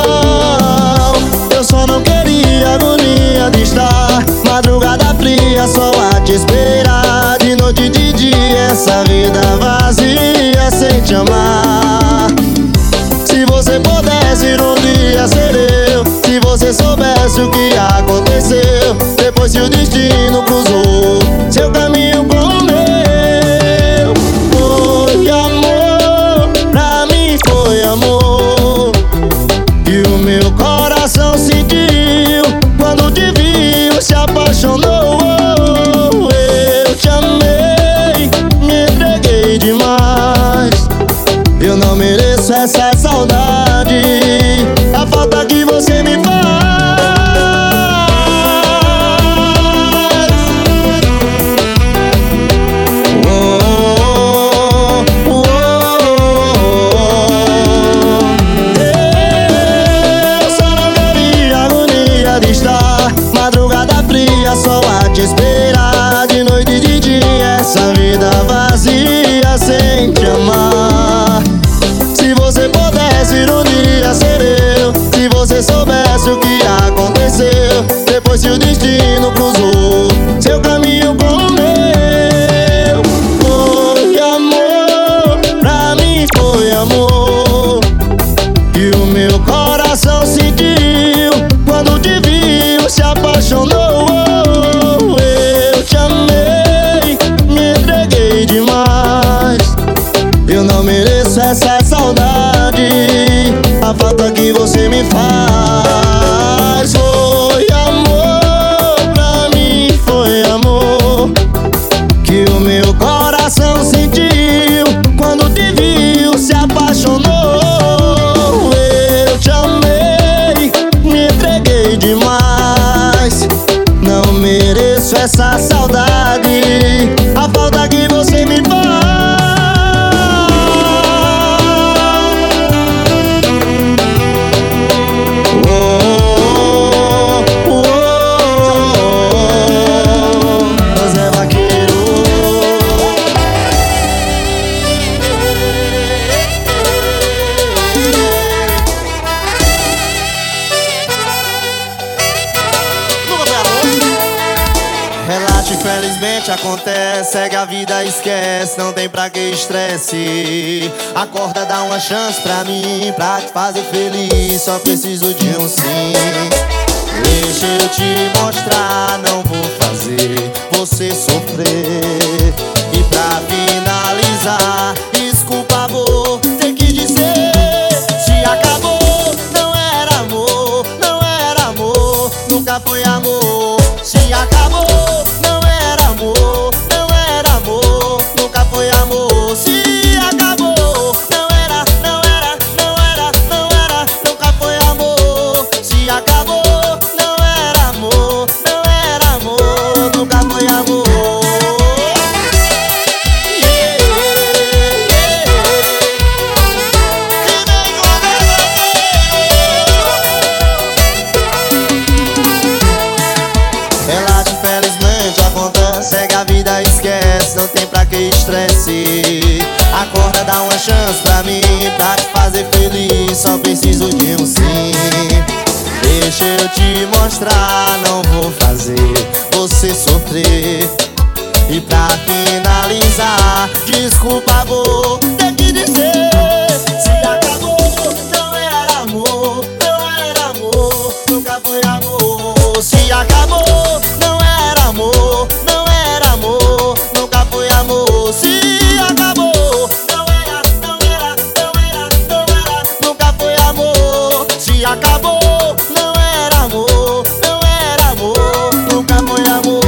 Eu só não queria agonia de estar madrugada fria, só a te esperar, de noite e de dia, essa vida vazia sem te amar. Se você pudesse um dia ser eu, se você soubesse o que aconteceu, depois que o destino cruzou seu caminho com o meu. Foi amor, pra mim foi amor, e o meu coração sentiu quando te viu, se apaixonou. Eu te amei, me entreguei demais. Eu não mereço essa saudade, a falta que você me faz. Oh, oh, oh, oh. Eu só não queria agonia de estar madrugada fria, só a te esperar, de noite e de dia, essa vida esqueço essa saudade, a falta que você me faz. Infelizmente acontece, segue a vida, esquece, não tem pra que estresse. Acorda, dá uma chance pra mim, pra te fazer feliz, só preciso de um sim. Deixa eu te mostrar, não vou fazer você sofrer. E pra finalizar, desculpa, vou ter que dizer, se acabou, não era amor, não era amor, nunca foi amor. Se acabou, não era amor, não era amor, nunca foi amor. Se acabou, não era, não era, não era, não era, nunca foi amor. Se acabou, não era amor, não era amor, nunca foi amor. Yeah, yeah. Relaxa, infelizmente acontece, segue a vida, esquece, não tem pra que estresse. Acorda, dá uma chance pra mim, pra te fazer feliz, só preciso de um sim. Deixa eu te mostrar, não vou fazer você sofrer. E pra finalizar, desculpa, vou ter que dizer, se acabou, não era amor, não era amor, nunca foi amor. Se acabou, não era amor, não era amor, nunca foi amor. Se acabou, não era, não era, não era, não era, nunca foi amor. Se acabou, não era amor, não era amor, nunca foi amor.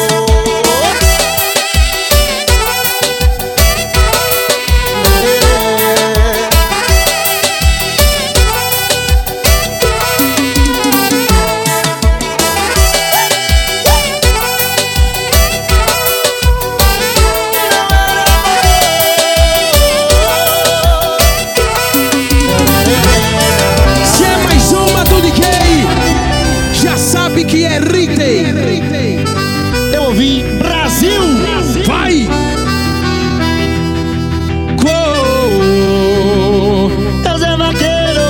Se é mais uma do D J, já sabe que é Ritei. Eu ouvi Brasil. Vai! Gol! Deus é vaqueiro.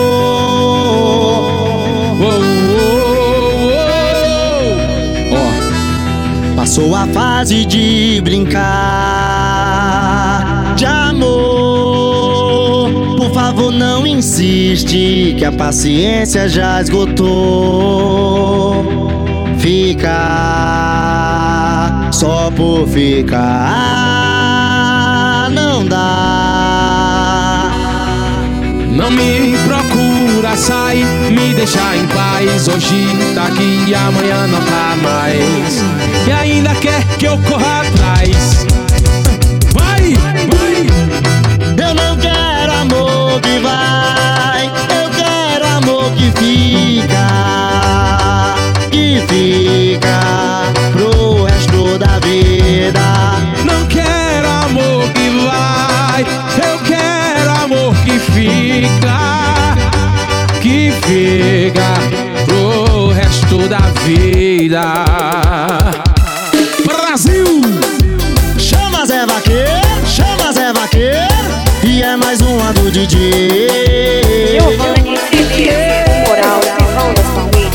Ó, Passou a fase de brincar de amor. Por favor, não insiste, que a paciência já esgotou. Ficar só por ficar não dá. não me procura, sai, me deixa em paz. Hoje tá aqui, amanhã não tá mais. E ainda quer que eu corra atrás. Vai, vai. Eu não quero amor que vai, eu quero amor que fica, que fica pro resto da vida. Não quero amor que vai, eu quero amor que fica, que fica pro resto da vida. Brasil! Chama Zé Vaqueiro, chama Zé Vaqueiro, e é mais uma do D J. Giovanni Felipe, moral, irmão das famílias.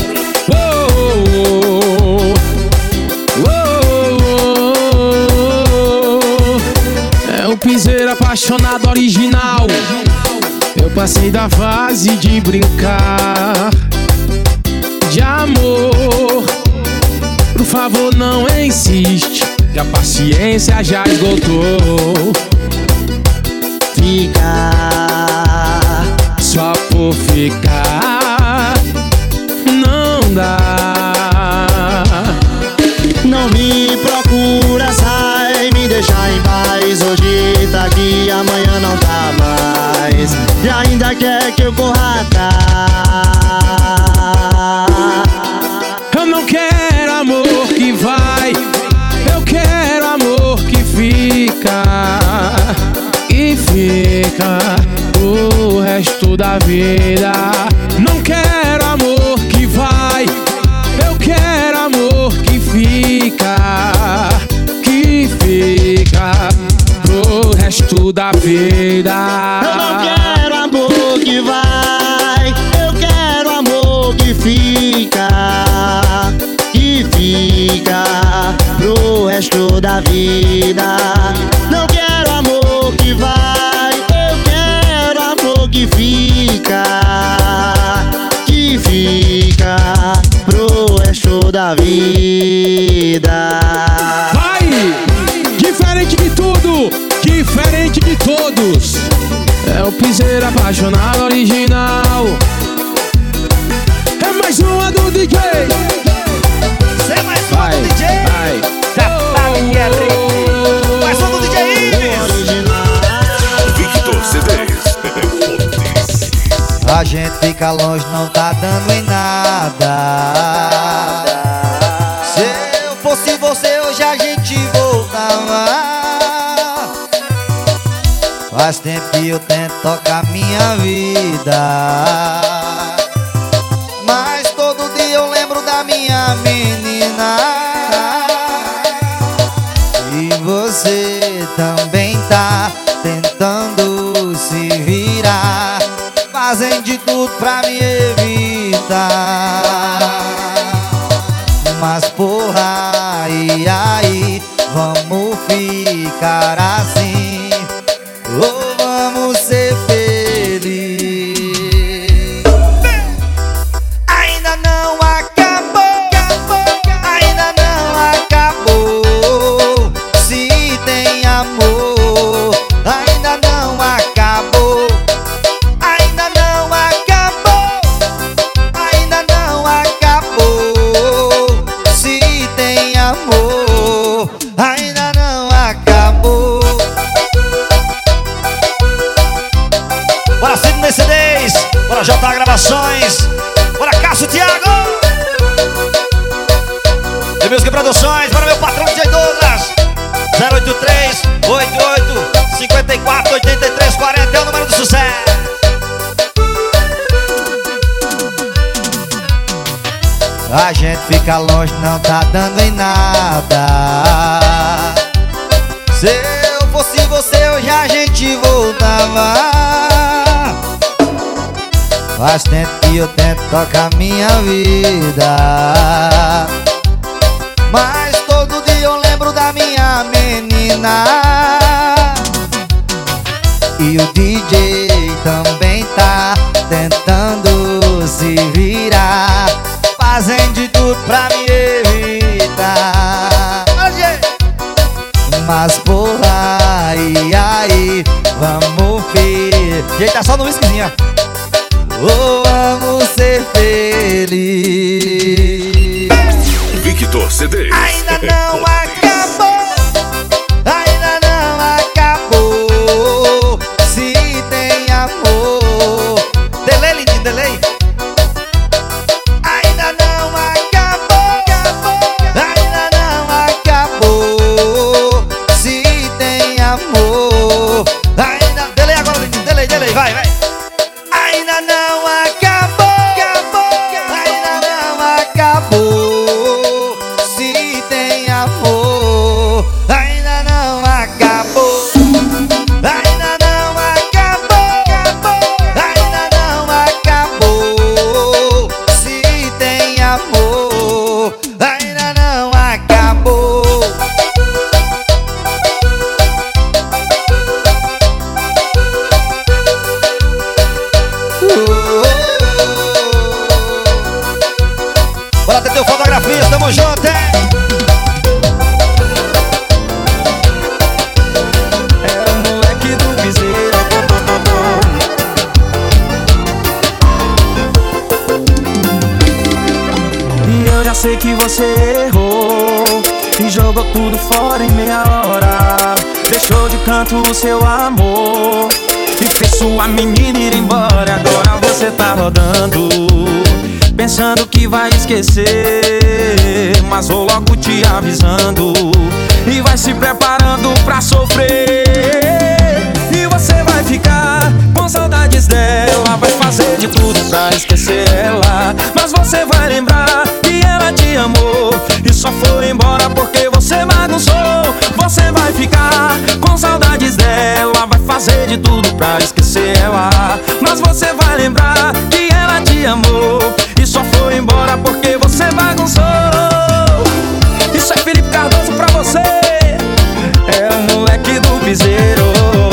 É um piseiro apaixonado original. Eu passei da fase de brincar de amor. Por favor, não insiste, que a paciência já esgotou. Ficar só por ficar não dá. Não me procura, sai, me deixa em paz. Hoje tá aqui, amanhã não tá mais. E ainda quer que eu corra atrás. Eu não quero amor que vai, resto da vida. Não quero amor que vai, eu quero amor que fica, que fica pro resto da vida. Eu não quero amor que vai, eu quero amor que fica, que fica pro resto da vida. Não quero amor que vai, eu quero amor que fica, que fica pro resto da vida. Vai! Diferente de tudo, diferente de todos. É o piseiro apaixonado original. É mais uma do D J. Você é mais uma do D J. Vai. Já sabe que é trem. Mais uma do D J Ives. Victor C Ds. A gente fica longe, não tá dando em nada. Se eu fosse você, hoje a gente voltava. Faz tempo que eu tento tocar minha vida, mas todo dia eu lembro da minha menina. E você também tá tentando se virar, fazem de tudo pra me evitar. Mas porra, e aí, vamos ficar assim, ou vamos ser felizes? Ainda não acabou, ainda não acabou. Se tem amor, ainda não acabou. Ainda não acabou, ainda não acabou. Se tem amor, ainda não acabou. Bora Sidney C Ds, bora J Gravações, bora Cássio Thiago, The Music Produções, bora meu patrão D J Douglas. Zero oito três, oito oito, cinco quatro, oito três quatro zero é o número do sucesso. A gente fica longe, não tá dando em nada. Se eu fosse você, hoje a gente voltava. Faz tempo que eu tento tocar minha vida, mas todo dia eu lembro da minha menina. E o D J também tá tentando se virar, fazem de tudo pra me evitar. Mas porra, e aí, vamos ver. Gente, tá só no whiskyzinho, ó. Ou vamos ser felizes? Victor C Ds. Ainda não acabou, ainda não acabou. Se tem amor, delay, lindinho, delay. Ainda não acabou, ainda não acabou. Se tem amor, ainda... Delay agora, lindinho, delay, delay, vai, vai. Ainda não acabou, ainda não acabou. Se tem amor, ainda não acabou. Ainda não acabou, ainda não acabou. Se tem amor, ainda não acabou. Bora ter teu fotografias, tamo junto, hein? É o moleque do piseiro. E eu já sei que você errou e jogou tudo fora em meia hora. Deixou de canto o seu amor e fez sua menina ir embora. Agora você tá rodando, pensando que vai esquecer, mas vou logo te avisando e vai se preparando pra sofrer. E você vai ficar com saudades dela, dela, vai fazer de tudo pra esquecer ela. Mas você vai lembrar que ela te amou e só foi embora porque você bagunçou. Você vai ficar com saudades dela, vai fazer de tudo pra esquecer ela. Mas você vai lembrar que ela te amou e só foi embora porque você bagunçou. Isso é Felipe Cardoso pra você, é o moleque do piseiro.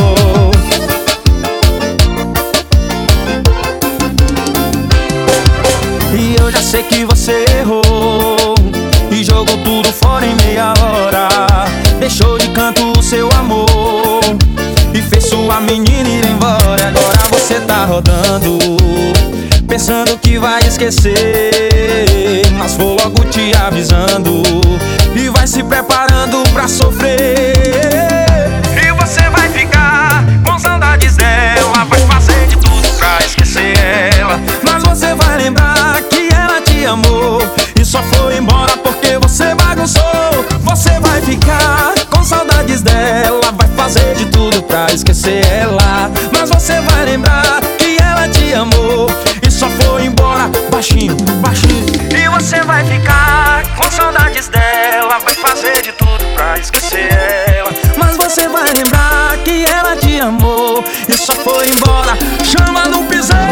E eu já sei que você errou e jogou tudo fora em meia hora. Deixou de canto o seu amor e fez sua menina ir embora. Agora você tá rodando, pensando que vai esquecer, mas vou logo te avisando e vai se preparando pra sofrer. E você vai ficar com saudades dela, vai fazer de tudo pra esquecer ela. Mas você vai lembrar que ela te amou e só foi embora porque você bagunçou. Você vai ficar com saudades dela, vai fazer de tudo pra esquecer ela. Mas você vai lembrar que ela te amou e só foi embora, baixinho, baixinho. E você vai ficar com saudades dela, vai fazer de tudo pra esquecer ela. Mas você vai lembrar que ela te amou e só foi embora. Chama no piseiro.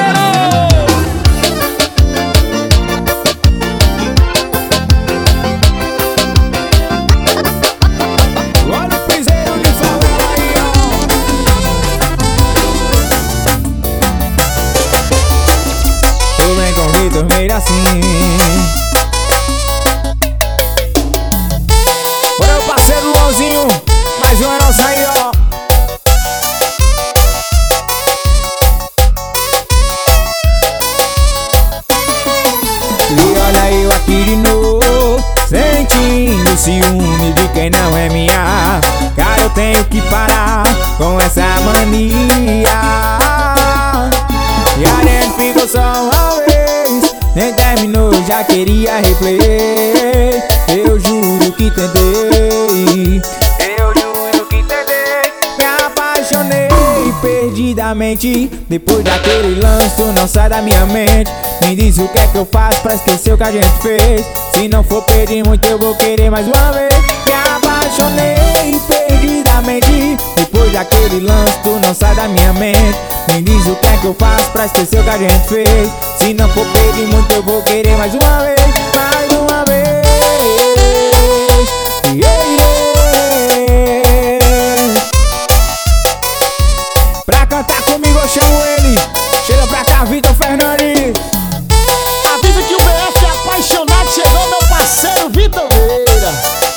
Meio assim. Bora o parceiro Luanzinho, mais uma nossa aí, ó. E olha eu aqui de novo, sentindo ciúme de quem não é minha. Cara, eu tenho que parar com essa mania. E a gente ficou só uma vez, nem terminou, já queria replay. Eu juro que tentei, eu juro que tentei. Me apaixonei perdidamente. Depois daquele lance tu não sai da minha mente. Me diz o que é que eu faço pra esquecer o que a gente fez. Se não for pedir muito eu vou querer mais uma vez. Me apaixonei perdidamente. Depois daquele lance tu não sai da minha mente. Me diz o que é que eu faço pra esquecer o que a gente fez. Se não for pedir muito eu vou querer mais uma vez. Mais uma vez. Yeah, yeah. Pra cantar comigo eu chamo ele. Chega pra cá, Vitor Fernandes. Avisa que o B F é apaixonado. Chegou meu parceiro Vitor Veira.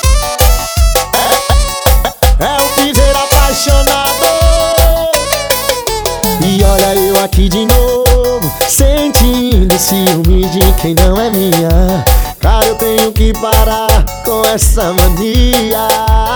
É, é, é o piseiro apaixonado. E olha eu aqui de novo, sentindo ciúme de quem não é minha. Cara, eu tenho que parar com essa mania.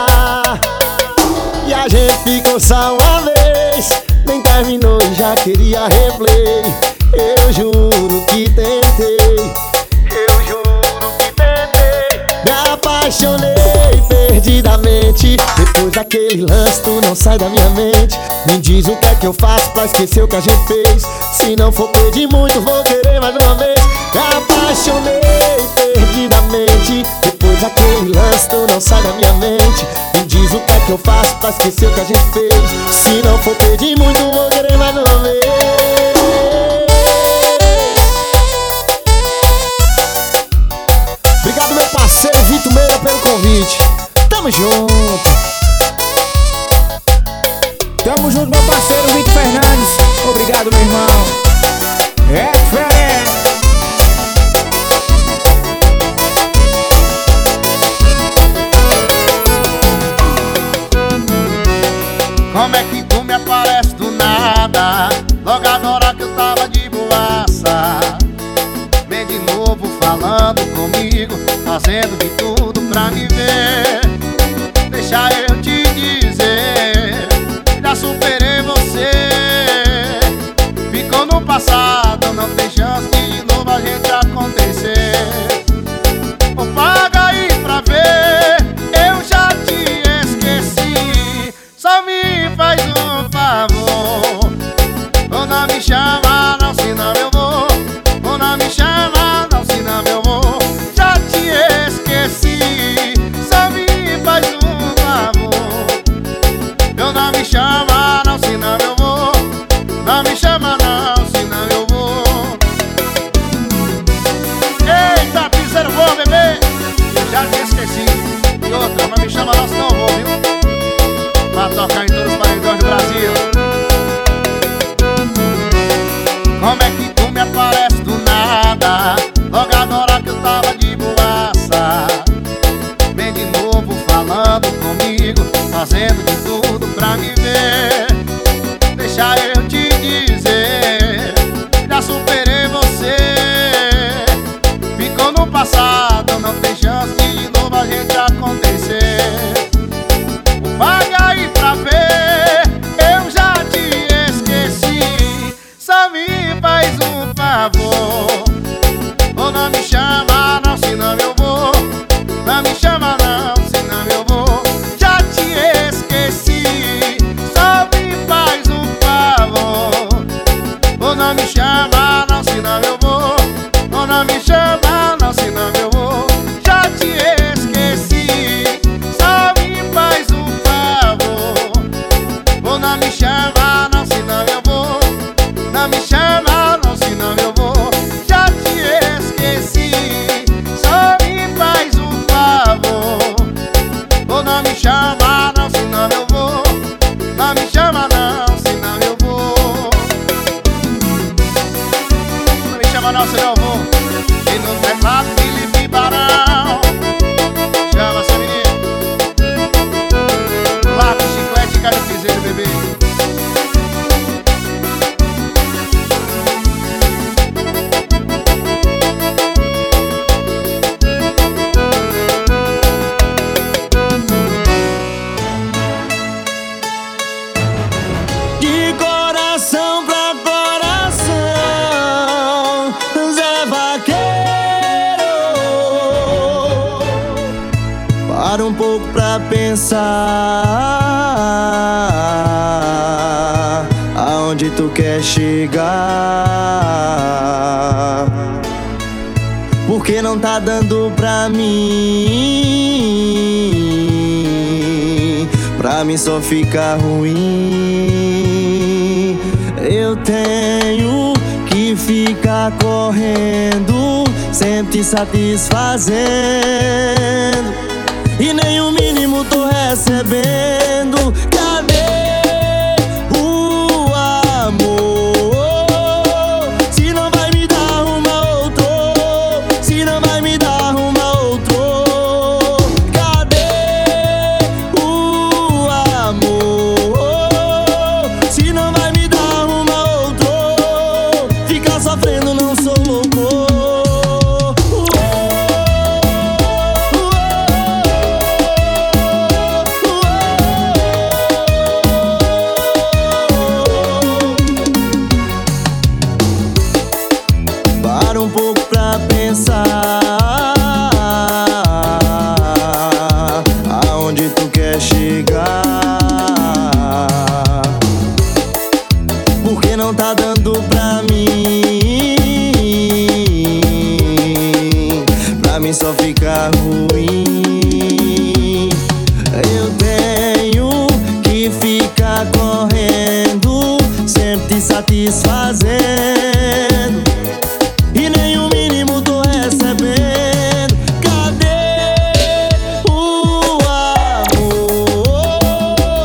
E a gente ficou só uma vez, nem terminou e já queria replay. Eu juro que tentei, eu juro que tentei. Me apaixonei perdidamente. Depois daquele lance tu não sai da minha mente. Me diz o que é que eu faço pra esquecer o que a gente fez. Se não for pedir muito vou querer mais uma vez. Me apaixonei perdidamente. Depois daquele lance tu não sai da minha mente. Me diz o que é que eu faço pra esquecer o que a gente fez. Se não for pedir muito vou querer mais uma vez. Obrigado meu parceiro Vitor Meira pelo convite. Tamo junto. Tamo junto meu parceiro Vitor Fernandes. Obrigado meu irmão. É diferente. Como é que tu me aparece do nada? Logo agora que eu tava de boaça. Vem de novo falando comigo, fazendo de tudo pra me ver. Deixa eu te dizer, já superei você. Ficou no passado, não tem chance de novo a gente acontecer. Ou paga aí pra ver, eu já te esqueci. Só me faz um pra tocar em todos os paredões do Brasil. Como é que tu me aparece do nada, logo agora que eu tava de boaça? Vem de novo falando comigo, fazendo de tudo pra me ver. Deixa eu te dizer, já superei você. Ficou no passado, não tem chance de de novo a gente acontecer. Paga aí pra ver, eu já te esqueci. Só me faz um favor, ou não me chama não, senão eu vou. Não me chama não, senão eu vou. Já te esqueci. Só me faz um favor, ou não me chama não, senão eu vou. Ou não me chama não, senão eu vou. Já te esqueci. Só me faz um favor, ou não me chama não, senão eu vou. Não me chama não, senão eu vou. Já te esqueci. Só me faz um favor, ou não me chama não, senão eu vou. Não me chama não, senão eu vou. Não me chama não, senão eu vou. E no teclado Felipe Barão. Chama essa menina. Lápis, chiclete, cara, piseiro, bebê. De coração pra coração, Zé Vaqueiro. Para um pouco pra pensar aonde tu quer chegar. Porque não tá dando pra mim, pra mim só fica ruim. Eu tenho que ficar correndo, sempre te satisfazendo, e nem o mínimo tô recebendo. Cadê o amor? Se não vai me dar uma outro, se não vai me dar uma outro. Cadê o amor? Se não vai me dar uma outro, ficar sofrendo não sou louco. Para um pouco pra pensar aonde tu quer chegar. Porque não tá dando pra mim, pra mim só fica ruim. Eu tenho que ficar correndo, sempre te satisfazendo, e nem o mínimo tô recebendo. Cadê o amor?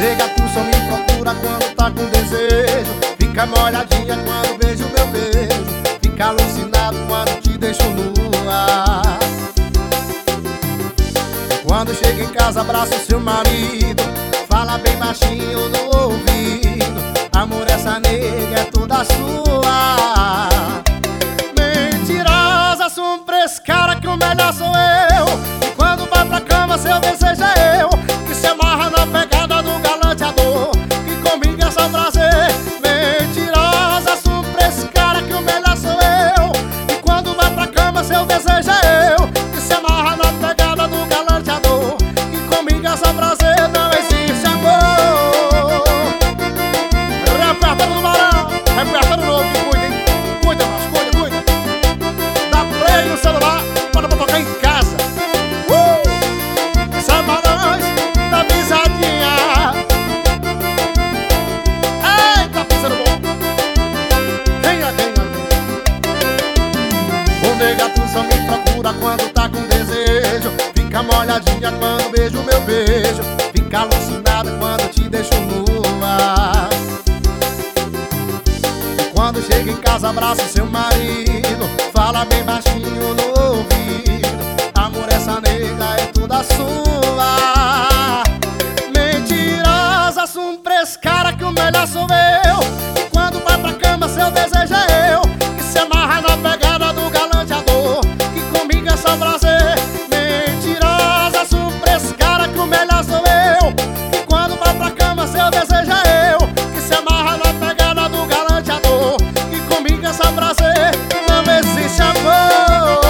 Nega, tu só me procura quando tá com desejo. Fica molhadinha quando vejo meu beijo. Fica alucinado quando te deixo nua. Quando chega em casa, abraça o seu marido. Fala bem baixinho no ouvido. Amor, essa nega é toda sua. Mentirosa, surpresa, cara, que o melhor sou eu. E quando vai pra cama, seu desejo é eu. Que se amarra na pegada do galanteador. Que comigo é só prazer. Mentirosa, surpresa, cara, que o melhor sou eu. E quando vai pra cama, seu desejo é eu. Que se amarra na pegada do galanteador. Que comigo é só prazer, não existe amor. Repertório do Barão, repertório novo, que cuida, hein? Cuida, mas cuida, cuida. Dá play no celular, bota pra tocar em casa. Uh! Isso é pra nós, da pisadinha. Eita, pisando bom. Venha, venha. O nega, tu só me procura quando tá com desejo. Fica molhadinha quando beijo meu beijo. Fica alucinada quando te deixo nua. Quando chega em casa, abraça o seu marido. Fala bem baixinho no ouvido. Amor, essa nega é toda sua. Mentirosa, surpresa, cara, que o melhor sou eu. E quando vai pra cama, seu desejo é eu. Que se amarra na pegada do galanteador. Que comigo é só prazer. Mentirosa, surpresa, cara, que o melhor sou eu. E quando vai pra cama, seu desejo é eu. Que se amarra na pegada do galanteador. Que comigo é só prazer, não existe amor.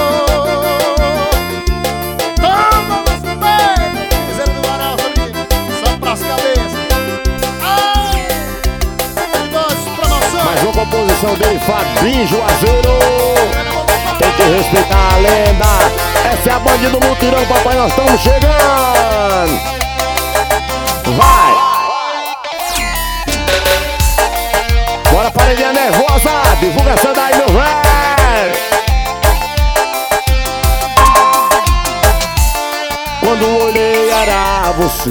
Toma, mas bem, piseiro do Varal, amigo, só pras cabeças. Ai, duas promoções. Mais uma composição dele, Fabinho Juazeiro. Tem que respeitar a lenda. Essa é a Bandido Mutirão, papai, nós estamos chegando. Vai! Bora, paredinha nervosa, divulga essa daí, meu velho. Quando olhei era você.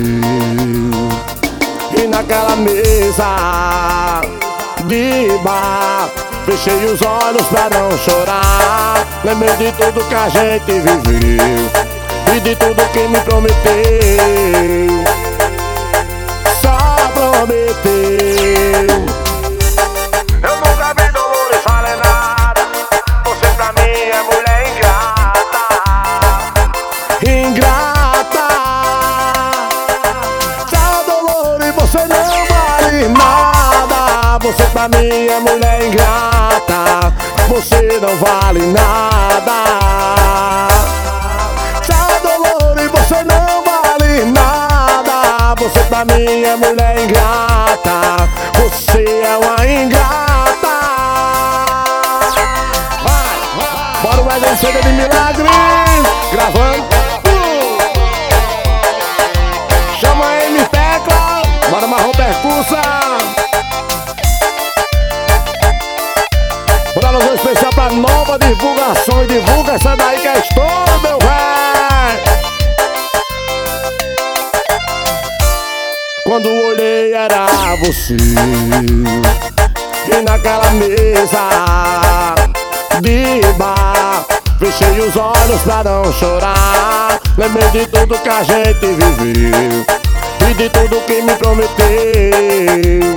E naquela mesa de bar, fechei os olhos pra não chorar. Lembrei de tudo que a gente viveu e de tudo que me prometeu. Só prometeu. Eu nunca vi Dolores falar nada. Você pra mim é mulher ingrata. Ingrata. Tchau, Dolores, você não vale nada. Você pra mim é mulher ingrata. Você não vale nada. Tchau, Dolores, você não vale nada. Você pra mim é mulher ingrata. Você é uma ingrata. Vai, bora mais um C D de milagres. Gravando. uh. Chama a M Tecla. Bora marrom percussa. Bora um especial pra nova divulgação. E divulga essa daí que é estouro, meu velho. Quando olhei era você. E naquela mesa de bar, fechei os olhos pra não chorar. Lembrei de tudo que a gente viveu e de tudo que me prometeu.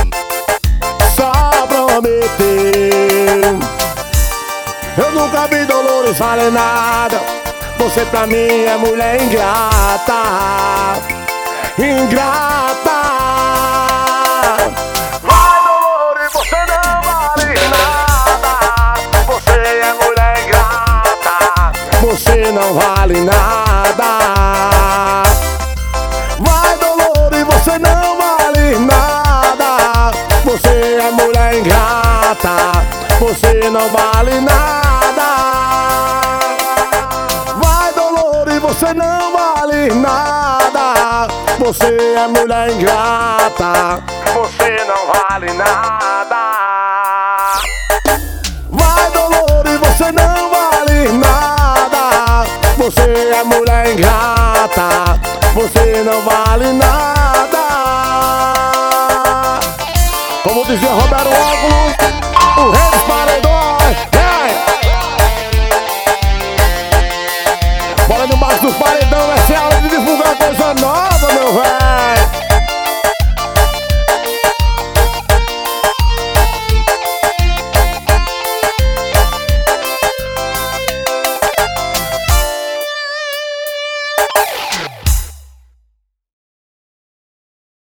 Só prometeu. Eu nunca vi Dolores falar nada. Você pra mim é mulher ingrata. Ingrata. Vai, Dolores, você não vale nada. Você é mulher ingrata. Você não vale nada. Vai, Dolores, você não vale nada. Você é mulher ingrata. Você não vale nada. Vai, Dolores, você não vale nada. Você é mulher ingrata. Você não vale nada. Vai, Dolores, você não vale nada. Você é mulher ingrata. Você não vale nada. D J Romero